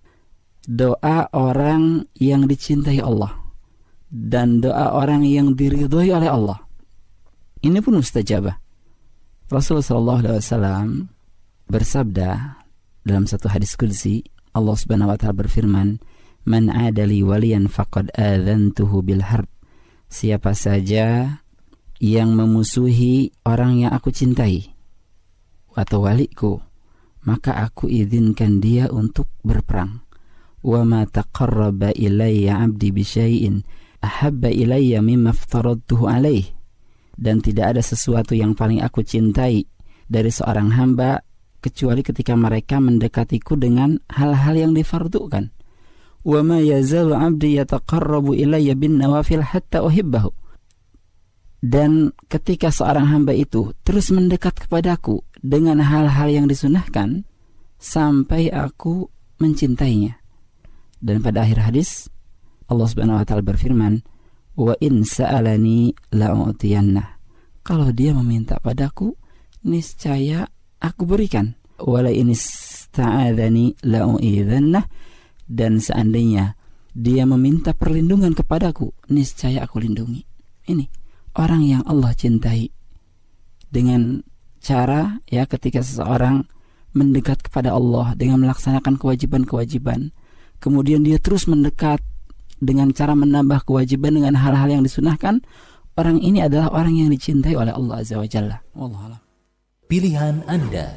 doa orang yang dicintai Allah dan doa orang yang diridhoi oleh Allah. Ini pun mustajabah. Rasulullah sallallahu alaihi wasallam bersabda dalam satu hadis qudsi, Allah Subhanahu wa taala berfirman, "Man 'adali waliyan faqad adzantuhu bil harb." Siapa saja yang memusuhi orang yang aku cintai atau waliku, maka aku izinkan dia untuk berperang. Wa ma taqarraba ilayya 'abdi bi syai'in ahabba ilayya mimma aftaradtuhu alaih. Dan tidak ada sesuatu yang paling aku cintai dari seorang hamba kecuali ketika mereka mendekatiku dengan hal-hal yang difardukan. Wa ma yazalu 'abdi yataqarrabu ilayya bin nawafil hatta uhibbahu. Dan ketika seorang hamba itu terus mendekat kepadaku dengan hal-hal yang disunahkan sampai aku mencintainya. Dan pada akhir hadis Allah Subhanahu wa taala berfirman, wa in sa'alani la'utiyanna. Kalau dia meminta padaku, niscaya aku berikan. Wala in ista'adzani la'u'idzanna. Dan seandainya dia meminta perlindungan kepadaku, niscaya aku lindungi. Ini orang yang Allah cintai. Dengan cara, ya, ketika seseorang mendekat kepada Allah dengan melaksanakan kewajiban-kewajiban, kemudian dia terus mendekat dengan cara menambah kewajiban dengan hal-hal yang disunahkan, orang ini adalah orang yang dicintai oleh Allah Azza wa Jalla. Wallahualam. Pilihan Anda.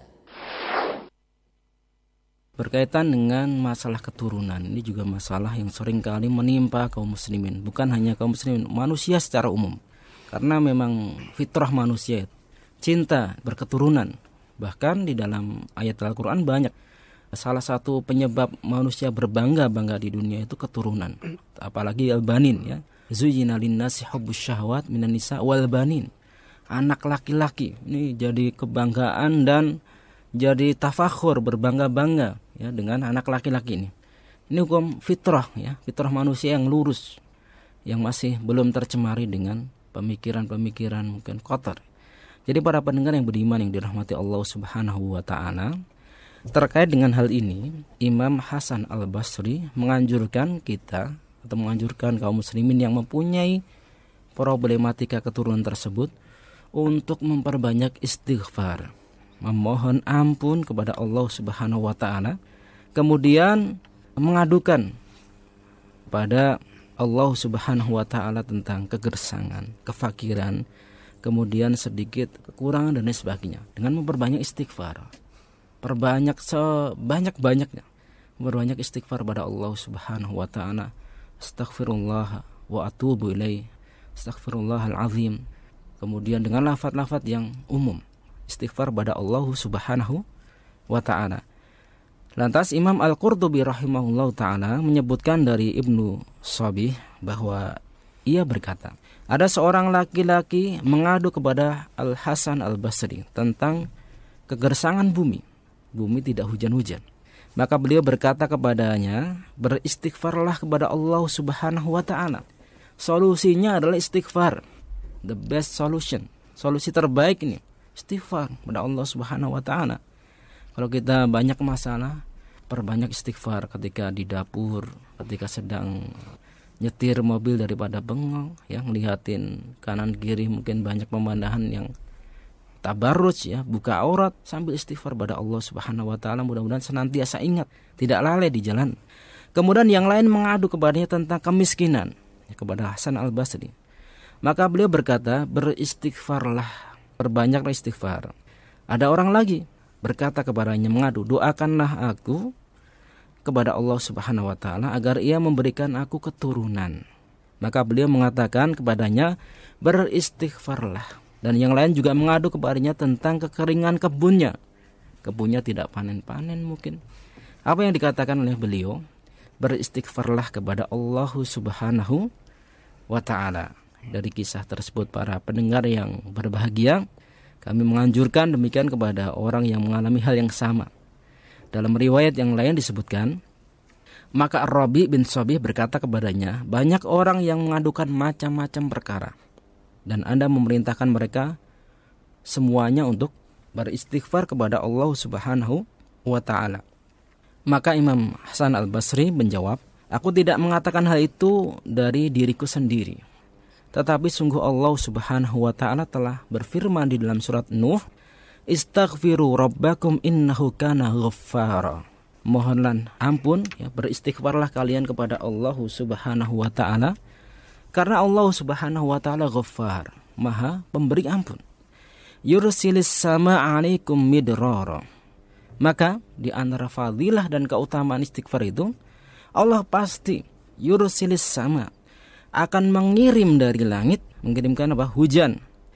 Berkaitan dengan masalah keturunan, ini juga masalah yang sering kali menimpa kaum muslimin. Bukan hanya kaum muslimin, manusia secara umum. Karena memang fitrah manusia, cinta berketurunan. Bahkan di dalam ayat Al-Quran banyak. Salah satu penyebab manusia berbangga-bangga di dunia itu keturunan. Apalagi al-banin ya. Zuyyina linnasi hubbus syahwat minan nisa wal banin. Anak laki-laki ini jadi kebanggaan dan jadi tafakhur, berbangga-bangga ya dengan anak laki-laki ini. Ini hukum fitrah ya, fitrah manusia yang lurus, yang masih belum tercemari dengan pemikiran-pemikiran mungkin kotor. Jadi para pendengar yang beriman yang dirahmati Allah Subhanahu wa taala, terkait dengan hal ini, Imam Hasan Al-Basri menganjurkan kita atau menganjurkan kaum muslimin yang mempunyai problematika keturunan tersebut untuk memperbanyak istighfar, memohon ampun kepada Allah Subhanahu wa taala, kemudian mengadukan pada Allah Subhanahu wa taala tentang kegersangan, kefakiran, kemudian sedikit kekurangan dan lain sebagainya dengan memperbanyak istighfar. Perbanyak sebanyak-banyaknya memperbanyak istighfar pada Allah Subhanahu wa taala. Astaghfirullah wa atubu ilaih. Astaghfirullahal azim. Kemudian dengan lafaz-lafaz yang umum, istighfar pada Allah Subhanahu wa taala. Lantas Imam Al-Qurtubi rahimahullahu taala menyebutkan dari Ibnu Shabih bahwa ia berkata, ada seorang laki-laki mengadu kepada Al-Hasan Al-Basri tentang kegersangan bumi. Bumi tidak hujan-hujan. Maka beliau berkata kepadanya, beristighfarlah kepada Allah Subhanahu wa taala. Solusinya adalah istighfar. The best solution. Solusi terbaik ini istighfar kepada Allah Subhanahu wa taala. Kalau kita banyak masalah, perbanyak istighfar ketika di dapur, ketika sedang nyetir mobil daripada bengong, yang ngelihatin kanan kiri mungkin banyak pemandangan yang tabarruj ya, buka aurat, sambil istighfar pada Allah Subhanahu wa taala, mudah-mudahan senantiasa ingat, tidak lalai di jalan. Kemudian yang lain mengadu kepadanya tentang kemiskinan ya, kepada Hasan Al-Basri. Maka beliau berkata, beristighfarlah, perbanyaklah istighfar. Ada orang lagi berkata kepadanya, mengadu, doakanlah aku kepada Allah Subhanahu wa taala agar ia memberikan aku keturunan. Maka beliau mengatakan kepadanya, beristighfarlah. Dan yang lain juga mengadu kepadanya tentang kekeringan kebunnya. Kebunnya tidak panen-panen mungkin. Apa yang dikatakan oleh beliau? Beristighfarlah kepada Allah Subhanahu wa ta'ala. Dari kisah tersebut para pendengar yang berbahagia, kami menganjurkan demikian kepada orang yang mengalami hal yang sama. Dalam riwayat yang lain disebutkan, maka Ar-Rabi bin Shabih berkata kepadanya, banyak orang yang mengadukan macam-macam perkara, dan Anda memerintahkan mereka semuanya untuk beristighfar kepada Allah Subhanahu wa ta'ala. Maka Imam Hasan Al-Basri menjawab, aku tidak mengatakan hal itu dari diriku sendiri, tetapi sungguh Allah Subhanahu wa ta'ala telah berfirman di dalam surat Nuh, istaghfiru rabbakum innahu kana ghaffara. Mohonlah ampun ya, beristighfarlah kalian kepada Allah Subhanahu wa ta'ala, karena Allah Subhanahu wa ta'ala Ghaffar, Maha pemberi ampun. Yursilis sama alaikum midrara. Maka di antara fadilah dan keutamaan istighfar itu, Allah pasti yursilis sama, akan mengirim dari langit, mengirimkan apa? Hujan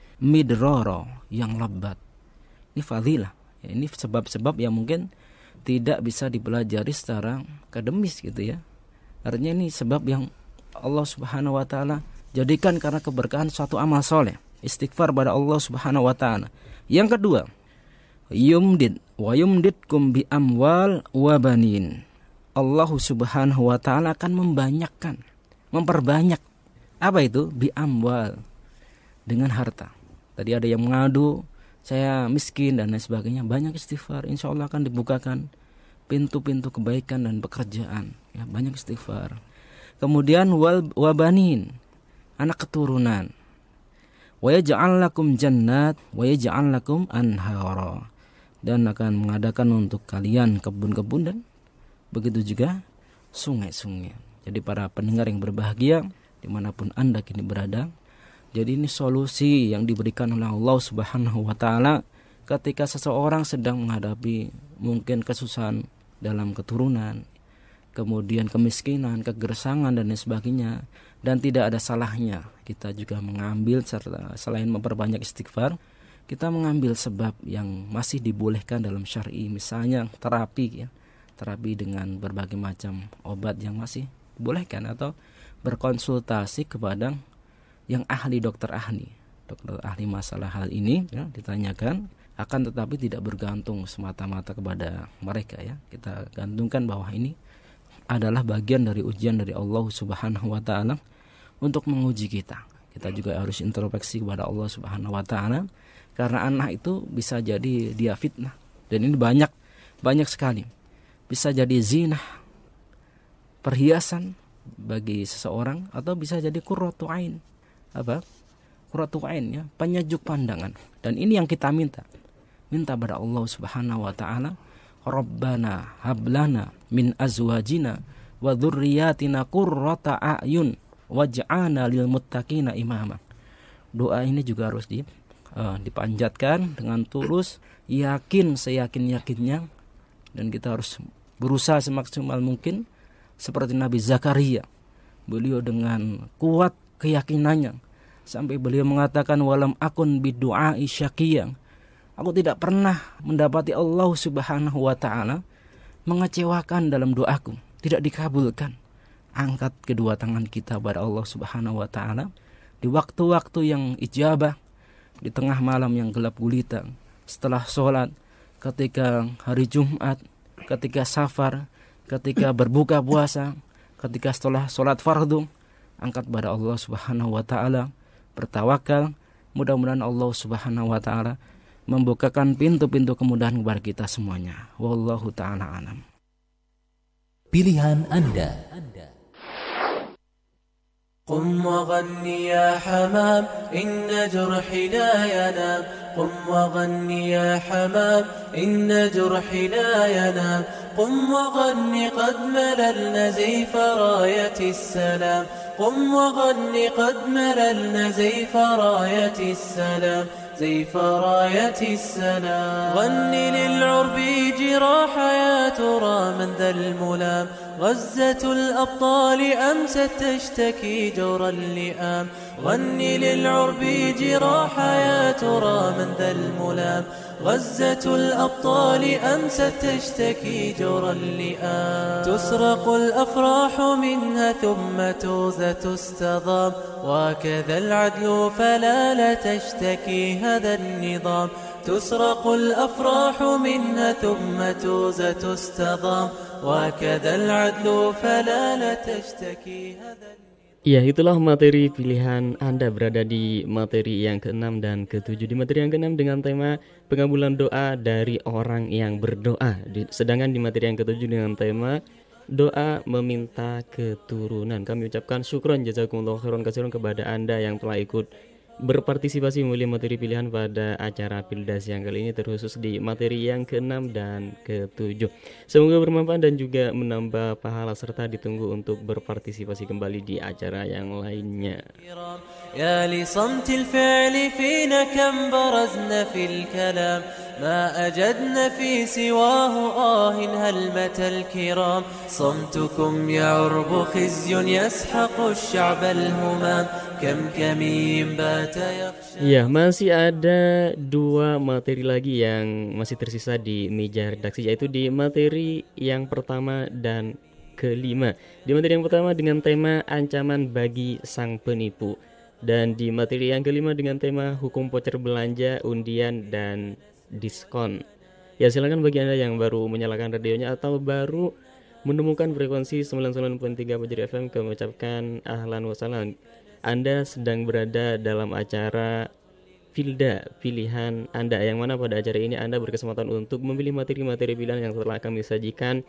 midrara, yang lebat. Ini fadilah. Ya, ini sebab-sebab yang mungkin tidak bisa dipelajari secara akademis gitu ya. Artinya ini sebab yang Allah Subhanahu wa ta'ala jadikan karena keberkahan suatu amal soleh. Istighfar pada Allah Subhanahu wa ta'ala. Yang kedua, yumdid wa yumdidkum bi amwal wa banin. Allah Subhanahu wa ta'ala akan membanyakkan, memperbanyak. Apa itu? Bi amwal, dengan harta. Tadi ada yang mengadu, saya miskin dan lain sebagainya. Banyak istighfar, insya Allah akan dibukakan pintu-pintu kebaikan dan pekerjaan ya, banyak istighfar. Kemudian wal wabanin, anak keturunan. Wa yaj'al lakum jannat wa yaj'al lakum anhara. dan akan mengadakan untuk kalian kebun-kebun dan begitu juga sungai-sungai. Jadi para pendengar yang berbahagia dimanapun Anda kini berada, jadi ini solusi yang diberikan oleh Allah Subhanahu wa Ta'ala ketika seseorang sedang menghadapi mungkin kesusahan dalam keturunan, kemudian kemiskinan, kegersangan dan lain sebagainya. Dan tidak ada salahnya kita juga mengambil, serta selain memperbanyak istighfar, kita mengambil sebab yang masih dibolehkan dalam syar'i, misalnya terapi ya, terapi dengan berbagai macam obat yang masih dibolehkan, atau berkonsultasi kepada yang ahli, dokter ahli, dokter ahli masalah hal ini ya, ditanyakan, akan tetapi tidak bergantung semata-mata kepada mereka ya. Kita gantungkan bahwa ini adalah bagian dari ujian dari Allah Subhanahu wa Ta'ala untuk menguji kita. Kita juga harus introspeksi kepada Allah Subhanahu wa Ta'ala, karena anak itu bisa jadi dia fitnah, dan ini banyak banyak sekali. Bisa jadi zinah, perhiasan bagi seseorang, atau bisa jadi qurratu ain. Apa? Qurratu ain ya, penyejuk pandangan. Dan ini yang kita minta. Minta pada Allah Subhanahu wa Ta'ala, Rabbana hablana min azwajina wa dzurriyyatina qurrata a'yun waj'alna lil muttaqina imama. Doa ini juga harus di, uh, dipanjatkan dengan tulus, yakin seyakin-yakinnya, dan kita harus berusaha semaksimal mungkin seperti Nabi Zakaria. Beliau dengan kuat keyakinannya sampai beliau mengatakan, walam akun bidu'ai syaqiyyan, aku tidak pernah mendapati Allah Subhanahu wa Ta'ala mengecewakan dalam doaku, tidak dikabulkan. Angkat kedua tangan kita pada Allah Subhanahu wa Ta'ala di waktu-waktu yang ijabah, di tengah malam yang gelap gulita, setelah sholat, ketika hari Jumat, ketika safar, ketika berbuka puasa, ketika setelah sholat fardu. Angkat pada Allah Subhanahu wa Ta'ala, bertawakal. Mudah-mudahan Allah Subhanahu wa Ta'ala membukakan pintu-pintu kemudahan kepada kita semuanya. Wallahu ta'ala alam. Pilihan Anda. قم وغني يا حمام إن جرحي لا ينام قم وغني يا حمام إن جرحي لا ينام قم وغني قد مللنا زيف راية السلام قم وغني قد مللنا زيف راية السلام زيف راية السلام غني للعرب جراح يا ترى من ذا الملام غزة الأبطال أمست تشتكي جور اللئام غني للعرب جراح يا ترى من ذا الملام غزة الأبطال أمست تشتكي جور اللئام تسرق الأفراح منها ثم توزى تستضام وكذا العدل فلا لا تشتكي هذا النظام تسرق الأفراح منها ثم توزى تستضام وكذا العدل فلا لا تشتكي هذا. Ya, itulah materi pilihan Anda berada di materi yang keenam dan ketujuh. Di materi yang keenam dengan tema pengabulan doa dari orang yang berdoa. Sedangkan di materi yang ketujuh dengan tema doa meminta keturunan. Kami ucapkan syukron jazakumullah khairan katsiran kepada Anda yang telah ikut berpartisipasi memilih materi pilihan pada acara Pildas yang kali ini, terkhusus di materi yang keenam dan ketujuh. Semoga bermanfaat dan juga menambah pahala, serta ditunggu untuk berpartisipasi kembali di acara yang lainnya. Ya li samtil fi'li fina kam barazna fil kalam ما أجدنا في سواه آه هل متى الكرام صمتكم يعرب خزي يسحق الشعب الهمام كم كمين بات يخشى. Ya, masih ada dua materi lagi yang masih tersisa di meja redaksi, yaitu di materi yang pertama dan kelima. Di materi yang pertama dengan tema ancaman bagi sang penipu, dan di materi yang kelima dengan tema hukum voucher belanja, undian, dan diskon. Ya, silakan bagi Anda yang baru menyalakan radionya atau baru menemukan frekuensi sembilan puluh sembilan koma tiga Fajri F M, kami ucapkan ahlan wa sahlan. Anda sedang berada dalam acara Filda Pilihan Anda, yang mana pada acara ini Anda berkesempatan untuk memilih materi-materi pilihan yang telah kami sajikan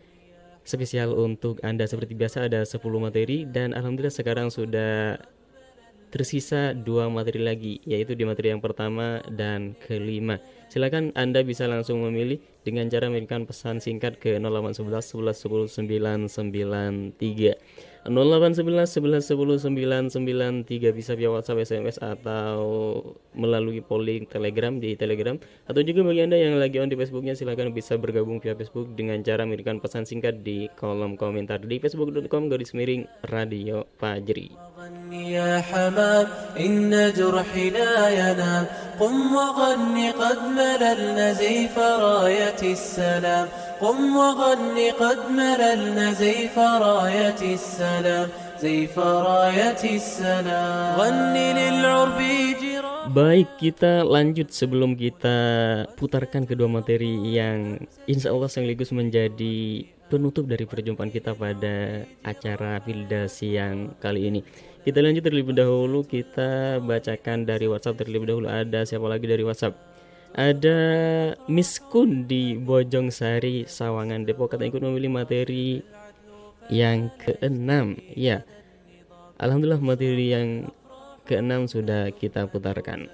spesial untuk Anda. Seperti biasa ada sepuluh materi, dan alhamdulillah sekarang sudah tersisa dua materi lagi, yaitu di materi yang pertama dan kelima. Silakan Anda bisa langsung memilih dengan cara mengirimkan pesan singkat ke nol delapan satu satu satu satu sembilan sembilan tiga. nol delapan satu satu satu satu sembilan sembilan tiga bisa via WhatsApp, S M S atau melalui polling Telegram di Telegram, atau juga bagi Anda yang lagi on di Facebooknya silakan bisa bergabung via Facebook dengan cara mengirimkan pesan singkat di kolom komentar di facebook dot com garis miring Radio Fajri. يا حمام إن جرحي لا ينام قم وغني قد مللنا زيف راية السلام قم وغني قد مللنا زيف راية السلام زيف راية السلام غني للعرب جيران. Baik, kita lanjut sebelum kita putarkan kedua materi yang insya Allah sekaligus menjadi penutup dari perjumpaan kita pada acara Filda siang kali ini. Kita lanjut terlebih dahulu, kita bacakan dari WhatsApp terlebih dahulu. Ada siapa lagi dari WhatsApp? Ada Miss Kun di Bojong Sari, Sawangan, Depok, kata ikut memilih materi yang keenam. Ya, alhamdulillah materi yang keenam sudah kita putarkan.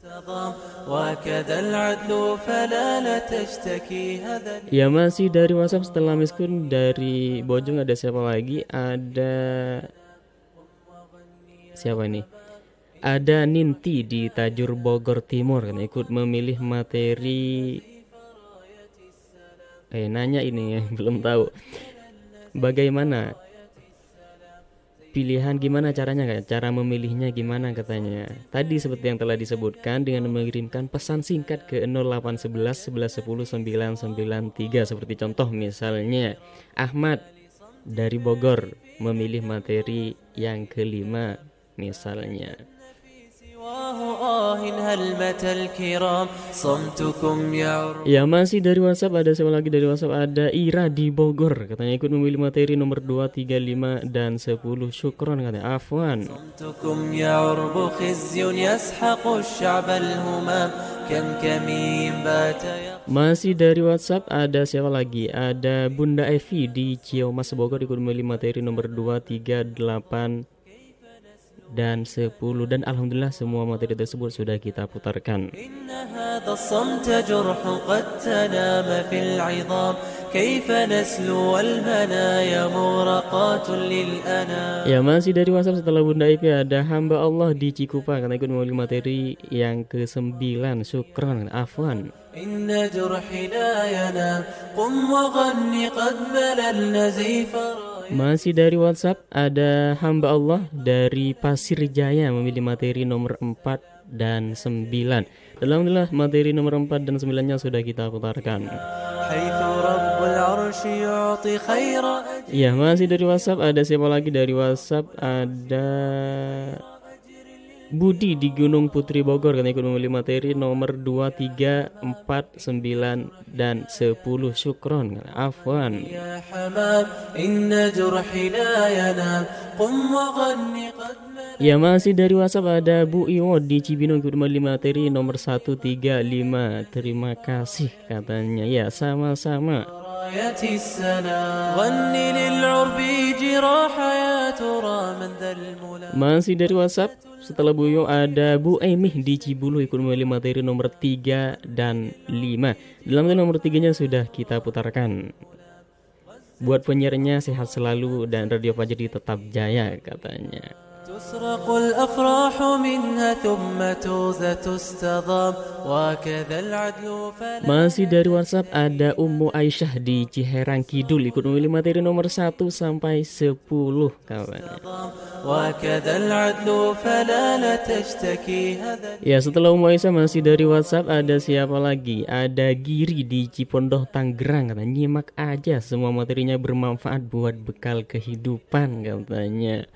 Ya, masih dari WhatsApp setelah Miss Kun dari Bojong. Ada siapa lagi? Ada siapa ini? Ada Ninti di Tajur Bogor Timur, kan ikut memilih materi. Eh nanya ini ya, belum tahu. Bagaimana pilihan, gimana caranya kan? Cara memilihnya gimana katanya? Tadi seperti yang telah disebutkan dengan mengirimkan pesan singkat ke nol delapan satu satu satu satu sembilan sembilan tiga, seperti contoh misalnya Ahmad dari Bogor memilih materi yang kelima misalnya. Ya, masih dari WhatsApp ada siapa lagi dari WhatsApp? Ada Ira di Bogor, katanya ikut memilih materi nomor dua, tiga, lima dan sepuluh. Syukron katanya. Afwan. Masih dari WhatsApp ada siapa lagi? Ada Bunda Evi di Ciamas Bogor ikut memilih materi nomor dua, tiga, delapan dan sepuluh, dan alhamdulillah semua materi tersebut sudah kita putarkan. Ya, masih dari WhatsApp setelah Bunda Ipi ada hamba Allah di Cikupa, karena ikut memilih materi yang ke sembilan. Syukran. Afwan. Masih dari WhatsApp ada hamba Allah dari Pasir Jaya memilih materi nomor empat dan sembilan. Alhamdulillah materi nomor empat dan sembilan-nya sudah kita putarkan. Ya, masih dari WhatsApp ada siapa lagi dari WhatsApp? Ada Budi di Gunung Putri Bogor, karena ikut memilih materi nomor dua, tiga, empat, sembilan dan sepuluh. Syukron. Afwan. Ya, masih dari WhatsApp ada Bu Iwo di Cibinong ikut memilih materi nomor satu, tiga, lima. Terima kasih katanya. Ya, sama-sama. Masih dari WhatsApp setelah Bu Yo ada Bu Emih di Cibulu ikut memilih materi nomor tiga dan lima. Dalam nomor tiganya sudah kita putarkan. Buat penyiarnya sehat selalu dan Radio Fajri tetap jaya katanya. Masih dari WhatsApp ada Ummu Aisyah di Ciherang Kidul ikut memilih materi nomor satu sampai sepuluh kawan. Ya, setelah Ummu Aisyah masih dari WhatsApp ada siapa lagi? Ada Giri di Cipondoh Tangerang, katanya nyimak aja semua materinya bermanfaat buat bekal kehidupan katanya.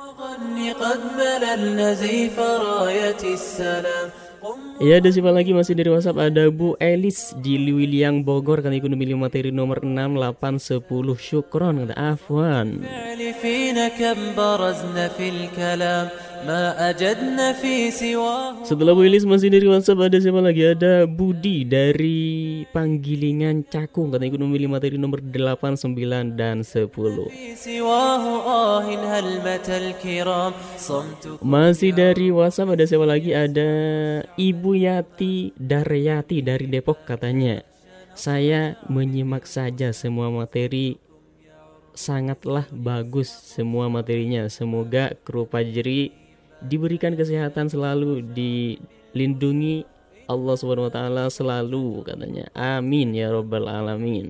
Ya, ada siapa lagi masih dari WhatsApp? Ada Bu Elis di Liwiliang Bogor, kan ikut memilih materi nomor enam, delapan, sepuluh. Syukron kata Afwan. Setelah Bu Ilis masih dari WhatsApp, ada siapa lagi? Ada Budi dari Panggilingan Cakung, katanya ikut memilih materi nomor delapan, sembilan dan sepuluh. Masih dari WhatsApp ada siapa lagi? Ada Ibu Yati Daryati dari Depok, katanya saya menyimak saja semua materi, sangatlah bagus semua materinya. Semoga kru Fajri diberikan kesehatan selalu, dilindungi Allah Subhanahu wa taala selalu, katanya. Amin ya rabbal alamin.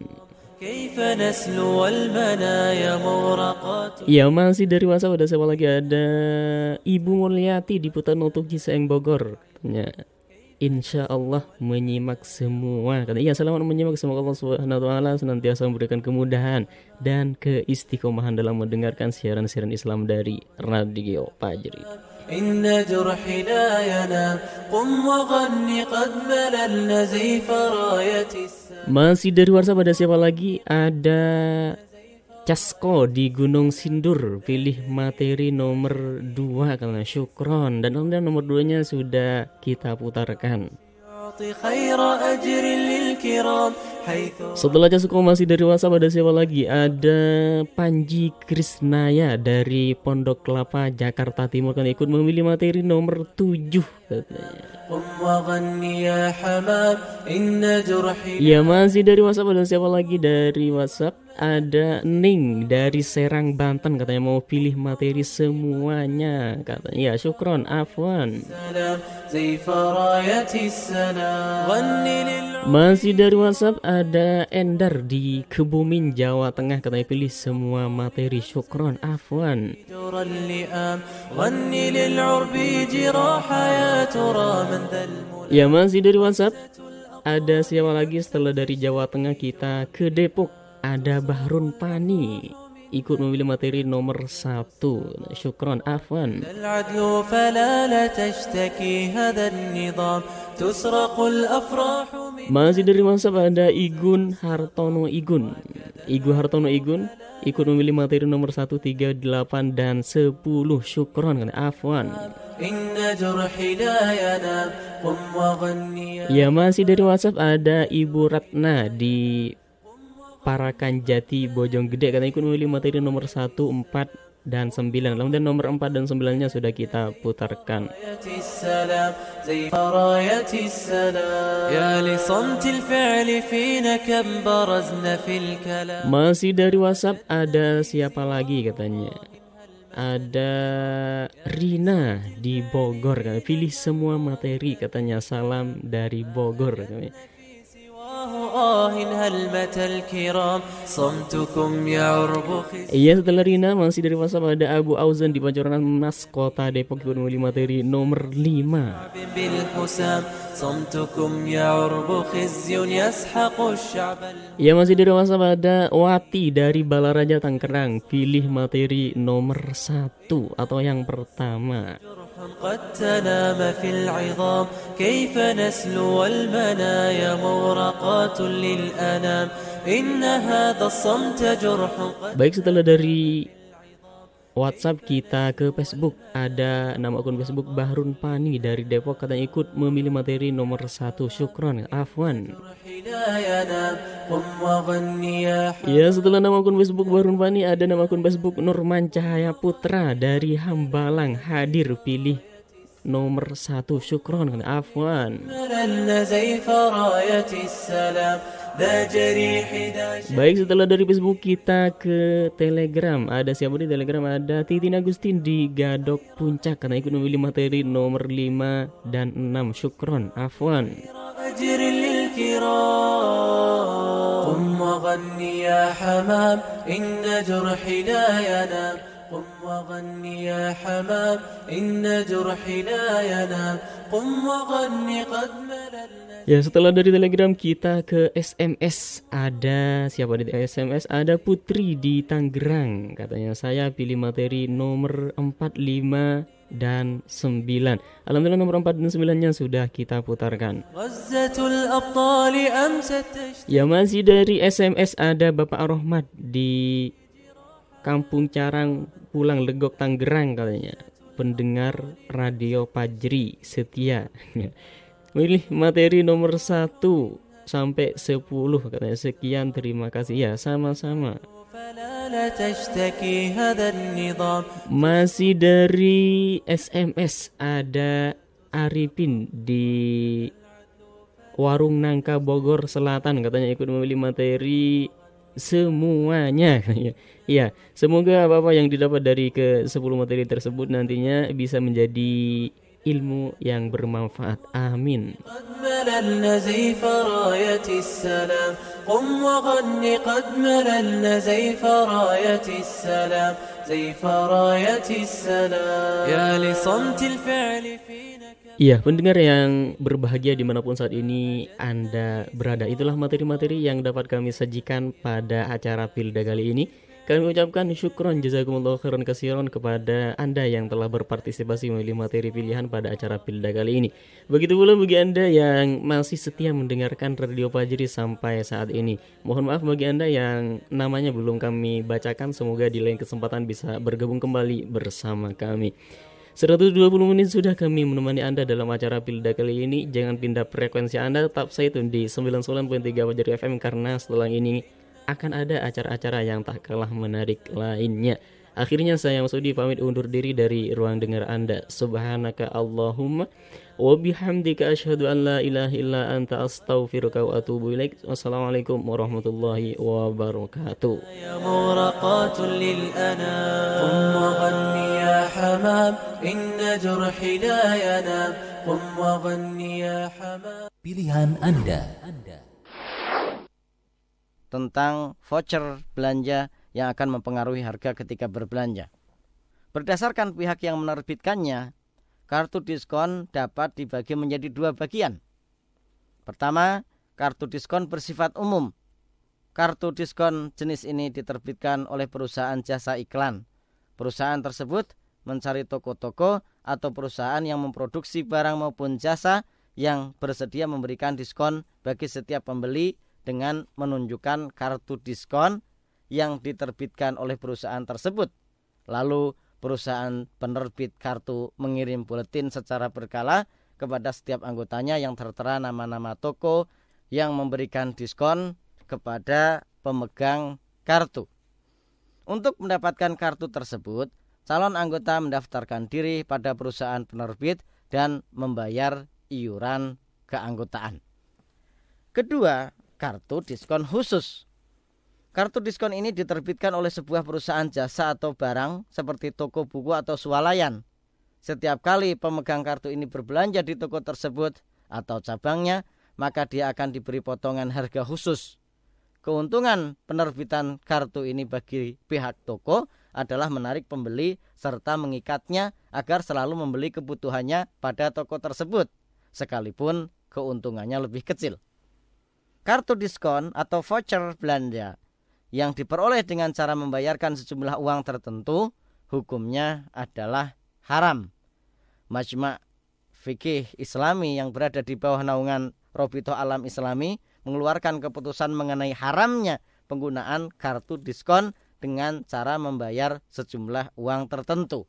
Ya, masih dari WhatsApp ada siapa lagi? Ada Ibu Mulyati di Putar Nutuk Ciseeng Bogor, katanya insya Allah menyimak semua. Kata iya, selamat menyimak. Semoga Allah Subhanahu wa taala senantiasa memberikan kemudahan dan keistiqomahan dalam mendengarkan siaran-siaran Islam dari Radio Fajri. Inna jurhi la yanam qum wa ghanni qad malalna zayfa rayatis. Masih dari WhatsApp ada siapa lagi? Ada Casko di Gunung Sindur, pilih materi nomor dua karena syukron, dan nomor dua nya sudah kita putarkan. Setelah Casko masih dari WhatsApp ada siapa lagi? Ada Panji Krisnaya dari Pondok Kelapa, Jakarta Timur, kan ikut memilih materi nomor tujuh, katanya. Ya, masih dari WhatsApp ada siapa lagi? Dari WhatsApp ada Ning dari Serang, Banten, katanya mau pilih materi semuanya, katanya. Ya, syukron, afwan. Masih dari WhatsApp ada Endar di Kebumen, Jawa Tengah, katanya pilih semua materi, syukron, afwan. Ya, masih dari WhatsApp ada siapa lagi? Setelah dari Jawa Tengah kita ke Depok, ada Bahrun Pani ikut memilih materi nomor satu, syukron, afwan. Masih dari WhatsApp ada Igun Hartono Igun Igu Hartono Igun ikut memilih materi nomor satu, tiga, delapan dan sepuluh, syukron, afwan. Ya, masih dari WhatsApp ada Ibu Ratna di Parakan Jati, Bojonggede, karena ikut memilih materi nomor satu, empat dan sembilan. Lalu dan nomor empat dan sembilan nya sudah kita putarkan. Masih dari WhatsApp ada siapa lagi, katanya? Ada Rina di Bogor, katanya pilih semua materi, katanya salam dari Bogor, katanya. Iya, setelah Rina masih dari WhatsApp ada Abu Auzan di Pancoran Mas, Kota Depok, ikut memilih materi nomor lima. Ya, masih dari WhatsApp ada Wati dari Balaraja, Tangerang, pilih materi nomor satu atau yang pertama. قد تنام في العظام كيف نسلو المنايا مورقات للأنام إن هذا الصمت جرح. Baik, setelah dari WhatsApp kita ke Facebook, ada nama akun Facebook Bahrun Pani dari Depok, katanya ikut memilih materi nomor satu, syukron, afwan. Ya, setelah nama akun Facebook Bahrun Pani ada nama akun Facebook Nurman Cahaya Putra dari Hambalang, hadir pilih nomor satu, syukron, afwan. Baik, setelah dari Facebook kita ke Telegram, ada siapa di Telegram? Ada Titin Agustin di Gadok Puncak, karena ikut memilih materi nomor lima dan enam, syukron, afwan. قم وغني يا حمام إن جرحي لا ينام قم وغني قد مللنا. Ya, setelah dari Telegram kita ke S M S, ada siapa di S M S? Ada Putri di Tangerang, katanya saya pilih materi nomor empat, lima dan sembilan. Alhamdulillah nomor empat dan sembilan nya sudah kita putarkan. Ya, masih dari S M S ada Bapak Ar-Rahmat di Kampung Carang, Pulang Legok, Tangerang, katanya pendengar Radio Fajri setia. Pilih materi nomor satu sampai sepuluh katanya. Sekian, terima kasih ya, sama-sama. Masih dari S M S ada Arifin di Warung Nangka Bogor Selatan, katanya ikut memilih materi semuanya. Ya, semoga apa-apa yang didapat dari ke sepuluh materi tersebut nantinya bisa menjadi ilmu yang bermanfaat. Amin. Iya, pendengar yang berbahagia dimanapun saat ini Anda berada, itulah materi-materi yang dapat kami sajikan pada acara Pilda kali ini. Kami ucapkan syukron jazakumullah khairan katsiran kepada Anda yang telah berpartisipasi memilih materi pilihan pada acara Pilda kali ini. Begitu pula bagi Anda yang masih setia mendengarkan Radio Fajri sampai saat ini. Mohon maaf bagi Anda yang namanya belum kami bacakan, semoga di lain kesempatan bisa bergabung kembali bersama kami. seratus dua puluh menit sudah kami menemani Anda dalam acara Pilda kali ini. Jangan pindah frekuensi Anda, tetap stay tune di sembilan puluh sembilan koma tiga Fajri F M karena setelah ini akan ada acara-acara yang tak kalah menarik lainnya. Akhirnya saya Masudi pamit undur diri dari ruang dengar Anda. Subhanaka Allahumma wa bihamdika asyhadu an la ilaha illa anta astaghfiruka wa atubu ilaik. Wassalamualaikum warahmatullahi wabarakatuh. Ya muraqatul lil anam qum wa ghanni ya hamam inna jurhi la yanam qum wa ghanni ya hamam. Pilihan Anda. Tentang voucher belanja yang akan mempengaruhi harga ketika berbelanja. Berdasarkan pihak yang menerbitkannya, kartu diskon dapat dibagi menjadi dua bagian. Pertama, kartu diskon bersifat umum. Kartu diskon jenis ini diterbitkan oleh perusahaan jasa iklan. Perusahaan tersebut mencari toko-toko atau perusahaan yang memproduksi barang maupun jasa yang bersedia memberikan diskon bagi setiap pembeli dengan menunjukkan kartu diskon yang diterbitkan oleh perusahaan tersebut. Lalu perusahaan penerbit kartu mengirim buletin secara berkala kepada setiap anggotanya yang tertera nama-nama toko yang memberikan diskon kepada pemegang kartu. Untuk mendapatkan kartu tersebut, calon anggota mendaftarkan diri pada perusahaan penerbit dan membayar iuran keanggotaan. Kedua, kartu diskon khusus. Kartu diskon ini diterbitkan oleh sebuah perusahaan jasa atau barang seperti toko buku atau swalayan. Setiap kali pemegang kartu ini berbelanja di toko tersebut atau cabangnya, maka dia akan diberi potongan harga khusus. Keuntungan penerbitan kartu ini bagi pihak toko adalah menarik pembeli serta mengikatnya agar selalu membeli kebutuhannya pada toko tersebut, sekalipun keuntungannya lebih kecil. Kartu diskon atau voucher belanja yang diperoleh dengan cara membayarkan sejumlah uang tertentu, hukumnya adalah haram. Majma' Fikih Islami yang berada di bawah naungan Robitoh Alam Islami mengeluarkan keputusan mengenai haramnya penggunaan kartu diskon dengan cara membayar sejumlah uang tertentu.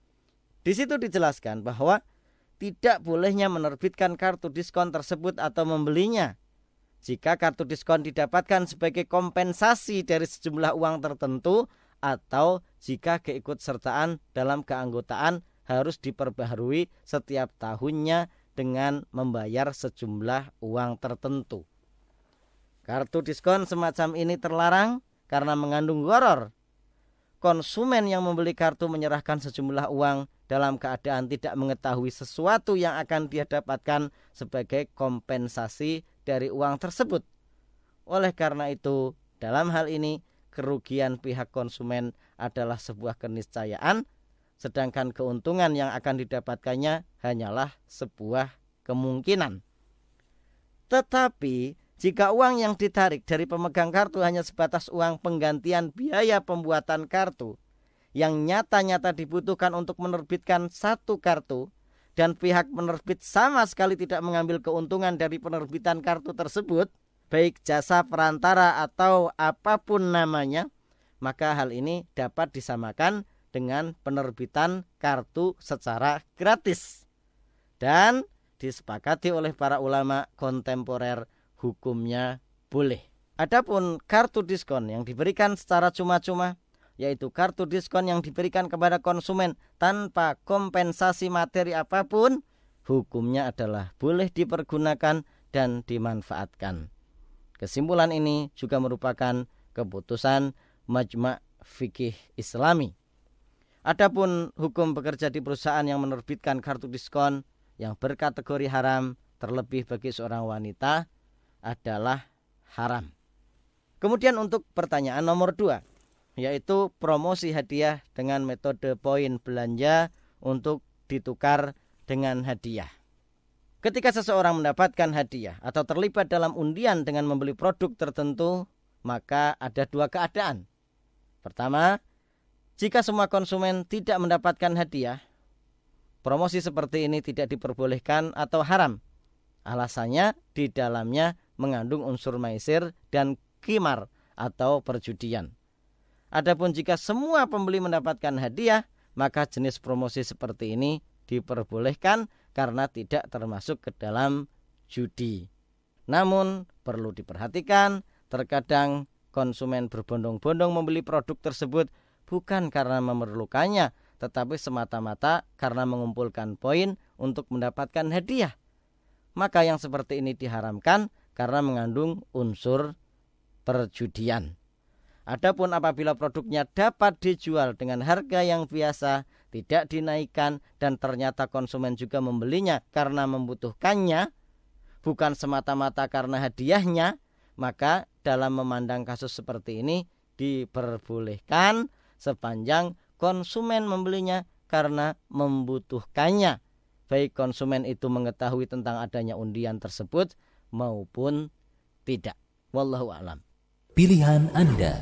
Di situ dijelaskan bahwa tidak bolehnya menerbitkan kartu diskon tersebut atau membelinya jika kartu diskon didapatkan sebagai kompensasi dari sejumlah uang tertentu atau jika keikutsertaan dalam keanggotaan harus diperbaharui setiap tahunnya dengan membayar sejumlah uang tertentu. Kartu diskon semacam ini terlarang karena mengandung gharar. Konsumen yang membeli kartu menyerahkan sejumlah uang dalam keadaan tidak mengetahui sesuatu yang akan dia dapatkan sebagai kompensasi dari uang tersebut. Oleh karena itu, dalam hal ini kerugian pihak konsumen adalah sebuah keniscayaan, sedangkan keuntungan yang akan didapatkannya hanyalah sebuah kemungkinan. Tetapi jika uang yang ditarik dari pemegang kartu hanya sebatas uang penggantian biaya pembuatan kartu yang nyata-nyata dibutuhkan untuk menerbitkan satu kartu, dan pihak penerbit sama sekali tidak mengambil keuntungan dari penerbitan kartu tersebut, baik jasa perantara atau apapun namanya, maka hal ini dapat disamakan dengan penerbitan kartu secara gratis. Dan disepakati oleh para ulama kontemporer hukumnya boleh. Adapun kartu diskon yang diberikan secara cuma-cuma, yaitu kartu diskon yang diberikan kepada konsumen tanpa kompensasi materi apapun, hukumnya adalah boleh dipergunakan dan dimanfaatkan. Kesimpulan ini juga merupakan keputusan Majma' Fikih Islami. Adapun hukum bekerja di perusahaan yang menerbitkan kartu diskon yang berkategori haram, terlebih bagi seorang wanita, adalah haram. Kemudian untuk pertanyaan nomor dua, yaitu promosi hadiah dengan metode poin belanja untuk ditukar dengan hadiah. Ketika seseorang mendapatkan hadiah atau terlibat dalam undian dengan membeli produk tertentu, maka ada dua keadaan. Pertama, jika semua konsumen tidak mendapatkan hadiah, promosi seperti ini tidak diperbolehkan atau haram. Alasannya di dalamnya mengandung unsur maisir dan qimar atau perjudian. Adapun jika semua pembeli mendapatkan hadiah, maka jenis promosi seperti ini diperbolehkan karena tidak termasuk ke dalam judi. Namun perlu diperhatikan, terkadang konsumen berbondong-bondong membeli produk tersebut bukan karena memerlukannya, tetapi semata-mata karena mengumpulkan poin untuk mendapatkan hadiah. Maka yang seperti ini diharamkan karena mengandung unsur perjudian. Adapun apabila produknya dapat dijual dengan harga yang biasa, tidak dinaikkan, dan ternyata konsumen juga membelinya karena membutuhkannya, bukan semata-mata karena hadiahnya, maka dalam memandang kasus seperti ini diperbolehkan sepanjang konsumen membelinya karena membutuhkannya, baik konsumen itu mengetahui tentang adanya undian tersebut maupun tidak. Wallahu a'lam. Pilihan Anda.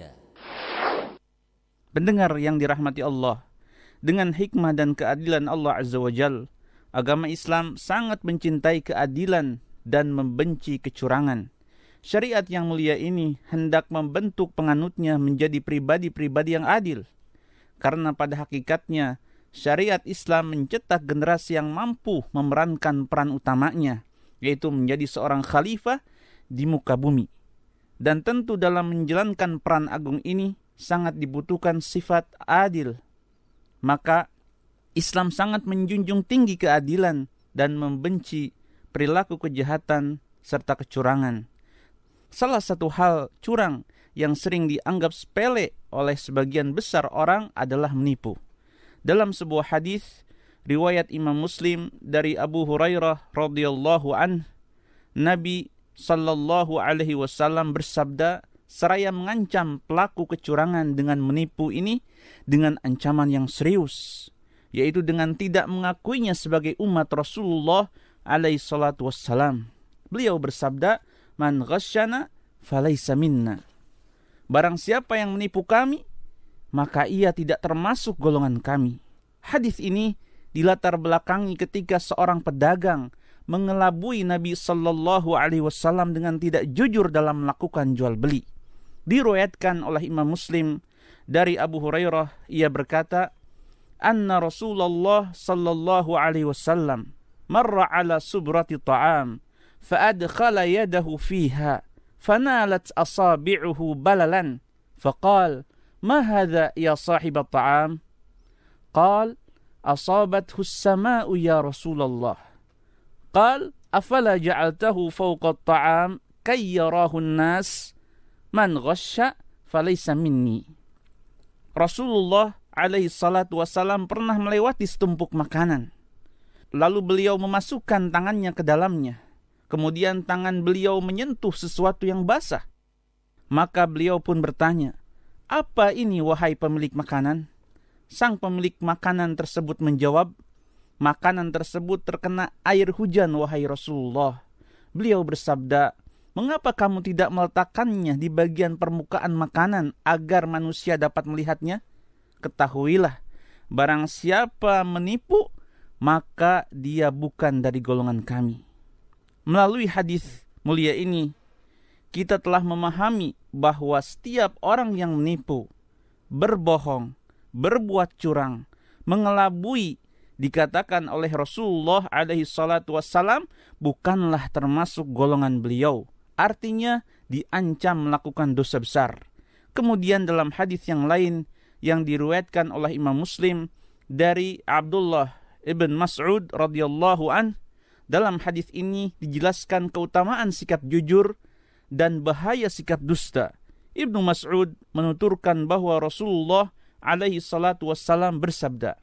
Pendengar yang dirahmati Allah, dengan hikmah dan keadilan Allah Azza wa Jal, agama Islam sangat mencintai keadilan dan membenci kecurangan. Syariat yang mulia ini hendak membentuk penganutnya menjadi pribadi-pribadi yang adil. Karena pada hakikatnya, syariat Islam mencetak generasi yang mampu memerankan peran utamanya, yaitu menjadi seorang khalifah di muka bumi. Dan tentu dalam menjalankan peran agung ini sangat dibutuhkan sifat adil. Maka Islam sangat menjunjung tinggi keadilan dan membenci perilaku kejahatan serta kecurangan. Salah satu hal curang yang sering dianggap sepele oleh sebagian besar orang adalah menipu. Dalam sebuah hadis riwayat Imam Muslim dari Abu Hurairah radhiyallahu anhu, Nabi sallallahu alaihi wasallam bersabda seraya mengancam pelaku kecurangan dengan menipu ini dengan ancaman yang serius, yaitu dengan tidak mengakuinya sebagai umat Rasulullah alaihi salatu wassalam. Beliau bersabda, "Man ghasyana falaysa minna." Barang siapa yang menipu kami, maka ia tidak termasuk golongan kami. Hadis ini dilatar belakangi ketika seorang pedagang mengelabui Nabi sallallahu alaihi wasallam dengan tidak jujur dalam melakukan jual beli. Diriwayatkan oleh Imam Muslim dari Abu Hurairah, ia berkata, "Anna Rasulullah sallallahu alaihi wasallam marra ala subrati ta'am fa adkhala yadahu fiha fanalat asabi'uhu balalan faqal ma hadha ya sahib at-ta'am?" Qal asabathu as-sama'u ya Rasulullah. Qal afala ja'altahu fawqa at-ta'am kay yarahu an-nas man ghasya falaysa minni. Rasulullah alaihi salatu wasallam pernah melewati setumpuk makanan. Lalu beliau memasukkan tangannya ke dalamnya. Kemudian tangan beliau menyentuh sesuatu yang basah. Maka beliau pun bertanya, "Apa ini wahai pemilik makanan?" Sang pemilik makanan tersebut menjawab, "Makanan tersebut terkena air hujan wahai Rasulullah." Beliau bersabda, "Mengapa kamu tidak meletakkannya di bagian permukaan makanan agar manusia dapat melihatnya? Ketahuilah, barang siapa menipu, maka dia bukan dari golongan kami." Melalui hadis mulia ini, kita telah memahami bahwa setiap orang yang menipu, berbohong, berbuat curang, mengelabui, dikatakan oleh Rasulullah alaihi salatu wassalam bukanlah termasuk golongan beliau. Artinya diancam melakukan dosa besar. Kemudian dalam hadis yang lain yang diriwayatkan oleh Imam Muslim dari Abdullah ibn Mas'ud radhiyallahu an, dalam hadis ini dijelaskan keutamaan sikap jujur dan bahaya sikap dusta. Ibnu Mas'ud menuturkan bahwa Rasulullah alaihi salatu wassalam bersabda,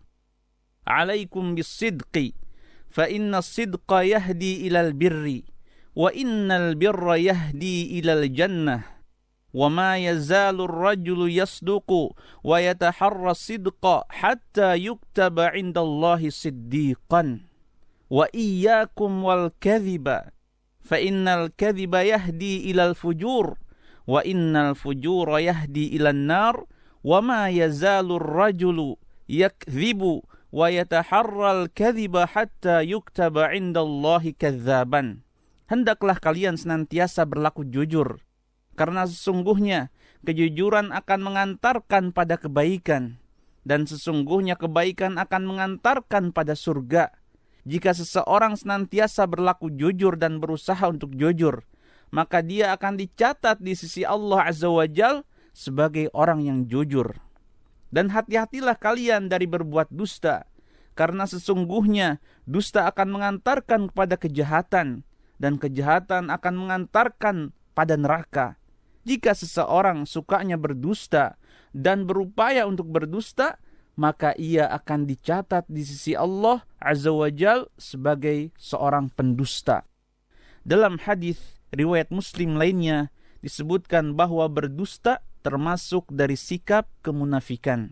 "Alaikum bis-sidqi, fa inna as-sidqa yahdi ilal birri, wa innal birra yahdi ilal jannah, wa ma yazalu ar-rajulu yasduqu wa yataharra as-sidqa hatta yuktaba 'indallahi siddiqan, wa iyyakum wal kadhiba, fa innal kadhiba yahdi ilal fujur, wa innal fujura yahdi ilan nar, wa ma yazalu ar-rajulu yakdhibu wa yataharral kadhiba hatta yuktaba 'indallahi kadzaban." Hendaklah kalian senantiasa berlaku jujur, karena sesungguhnya kejujuran akan mengantarkan pada kebaikan, dan sesungguhnya kebaikan akan mengantarkan pada surga. Jika seseorang senantiasa berlaku jujur dan berusaha untuk jujur, maka dia akan dicatat di sisi Allah Azza wa Jal sebagai orang yang jujur. Dan hati-hatilah kalian dari berbuat dusta, karena sesungguhnya dusta akan mengantarkan kepada kejahatan, dan kejahatan akan mengantarkan pada neraka. Jika seseorang sukanya berdusta dan berupaya untuk berdusta, maka ia akan dicatat di sisi Allah Azza wa Jal sebagai seorang pendusta. Dalam hadis riwayat Muslim lainnya disebutkan bahwa berdusta termasuk dari sikap kemunafikan.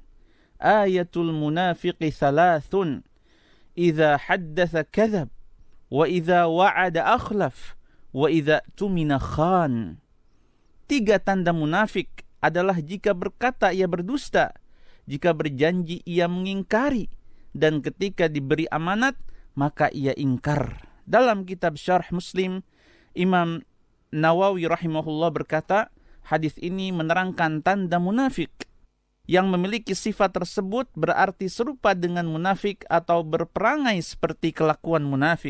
Ayatul munafiqi thalathun, idza haddatha kadzab, wa idza wa'ada akhlaf, wa idza tumina khan. Tiga tanda munafik adalah jika berkata ia berdusta, jika berjanji ia mengingkari, dan ketika diberi amanat maka ia ingkar. Dalam kitab Syarh Muslim, Imam Nawawi rahimahullah berkata, hadis ini menerangkan tanda munafik. Yang memiliki sifat tersebut berarti serupa dengan munafik atau berperangai seperti kelakuan munafik.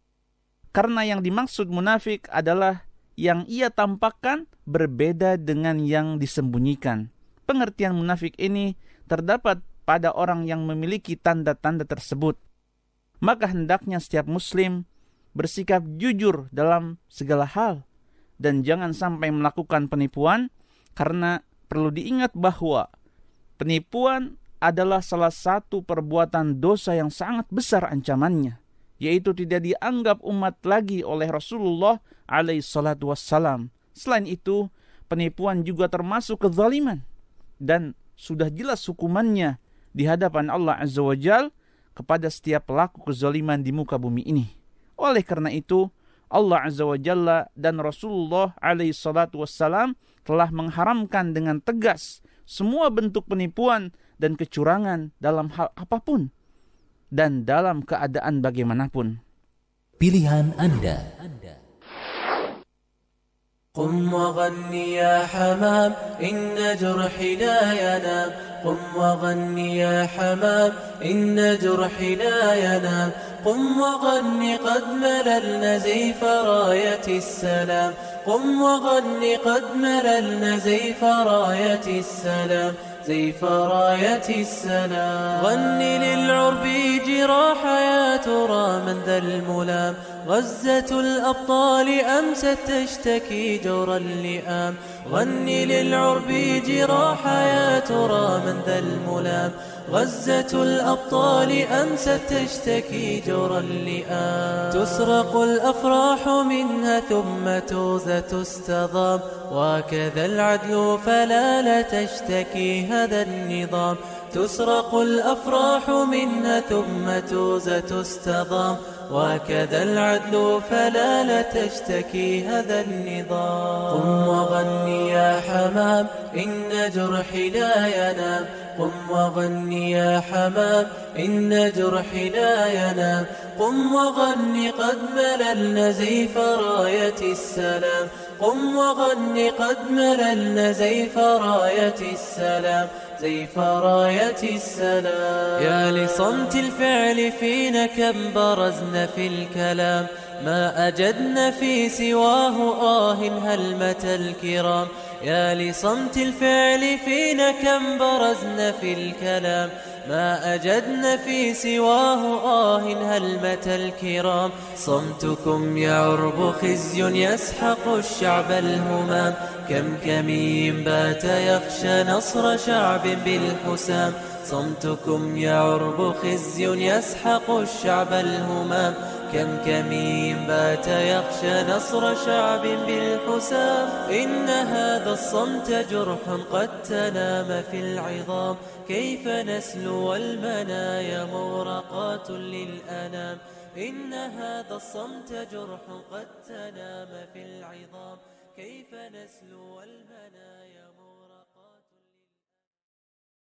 Karena yang dimaksud munafik adalah yang ia tampakkan berbeda dengan yang disembunyikan. Pengertian munafik ini terdapat pada orang yang memiliki tanda-tanda tersebut. Maka hendaknya setiap muslim bersikap jujur dalam segala hal dan jangan sampai melakukan penipuan, karena perlu diingat bahwa penipuan adalah salah satu perbuatan dosa yang sangat besar ancamannya, yaitu tidak dianggap umat lagi oleh Rasulullah alaihi salatu wassalam. Selain itu, penipuan juga termasuk kezaliman dan sudah jelas hukumannya di hadapan Allah Azza wa Jal kepada setiap pelaku kezaliman di muka bumi ini. Oleh karena itu, Allah Azza wa Jalla dan Rasulullah alaihi salatu wassalam telah mengharamkan dengan tegas semua bentuk penipuan dan kecurangan dalam hal apapun dan dalam keadaan bagaimanapun. Pilihan Anda. قم وغني يا حمام إن جرحي لا ينام قم وغني يا حمام إن جرحي لا ينام قم وغني قد مللنا زيف راية السلام قم وغني قد مللنا زيف راية السلام زيف راية السلام غني للعرب جراح يا ترى من ذا الملام غزة الأبطال أمست تشتكي جور اللئام غني للعرب جراح يا ترى من ذا الملام غزة الأبطال أمست تشتكي جور اللئام تسرق الأفراح منها ثم توزة تستضام وكذا العدل فلا لا تشتكي هذا النظام تسرق الأفراح منها ثم توزة تستضام وكذا العدل فلا لا تشتكي هذا النظام قم وغني يا حمام إن جرحي لا ينام قم وغني يا حمام إن جرحي لا ينام قم وغني قد مللنا زيف راية السلام قم وغني قد مللنا زيف راية السلام زيف راية السلام. يا لصمت الفعل فينا كم برزن في الكلام ما أجدن في سواه آه هلمة الكرام. يا لصمت الفعل فينا كم برزن في الكلام ما أجدن في سواه آه هلمة الكرام. صمتكم يا عرب خزي يسحق الشعب الهمام كم كمين بات يخشى نصر شعب بالحسام. صمتكم يا عرب خزي يسحق الشعب الهمام كم كمين بات يخشى نصر شعب بالحسام. إن هذا الصمت جرح قد تنام في العظام كيف نسلو والمنايا مورقات للأنام. إن هذا الصمت جرح قد تنام في العظام كيف نسلو والمنايا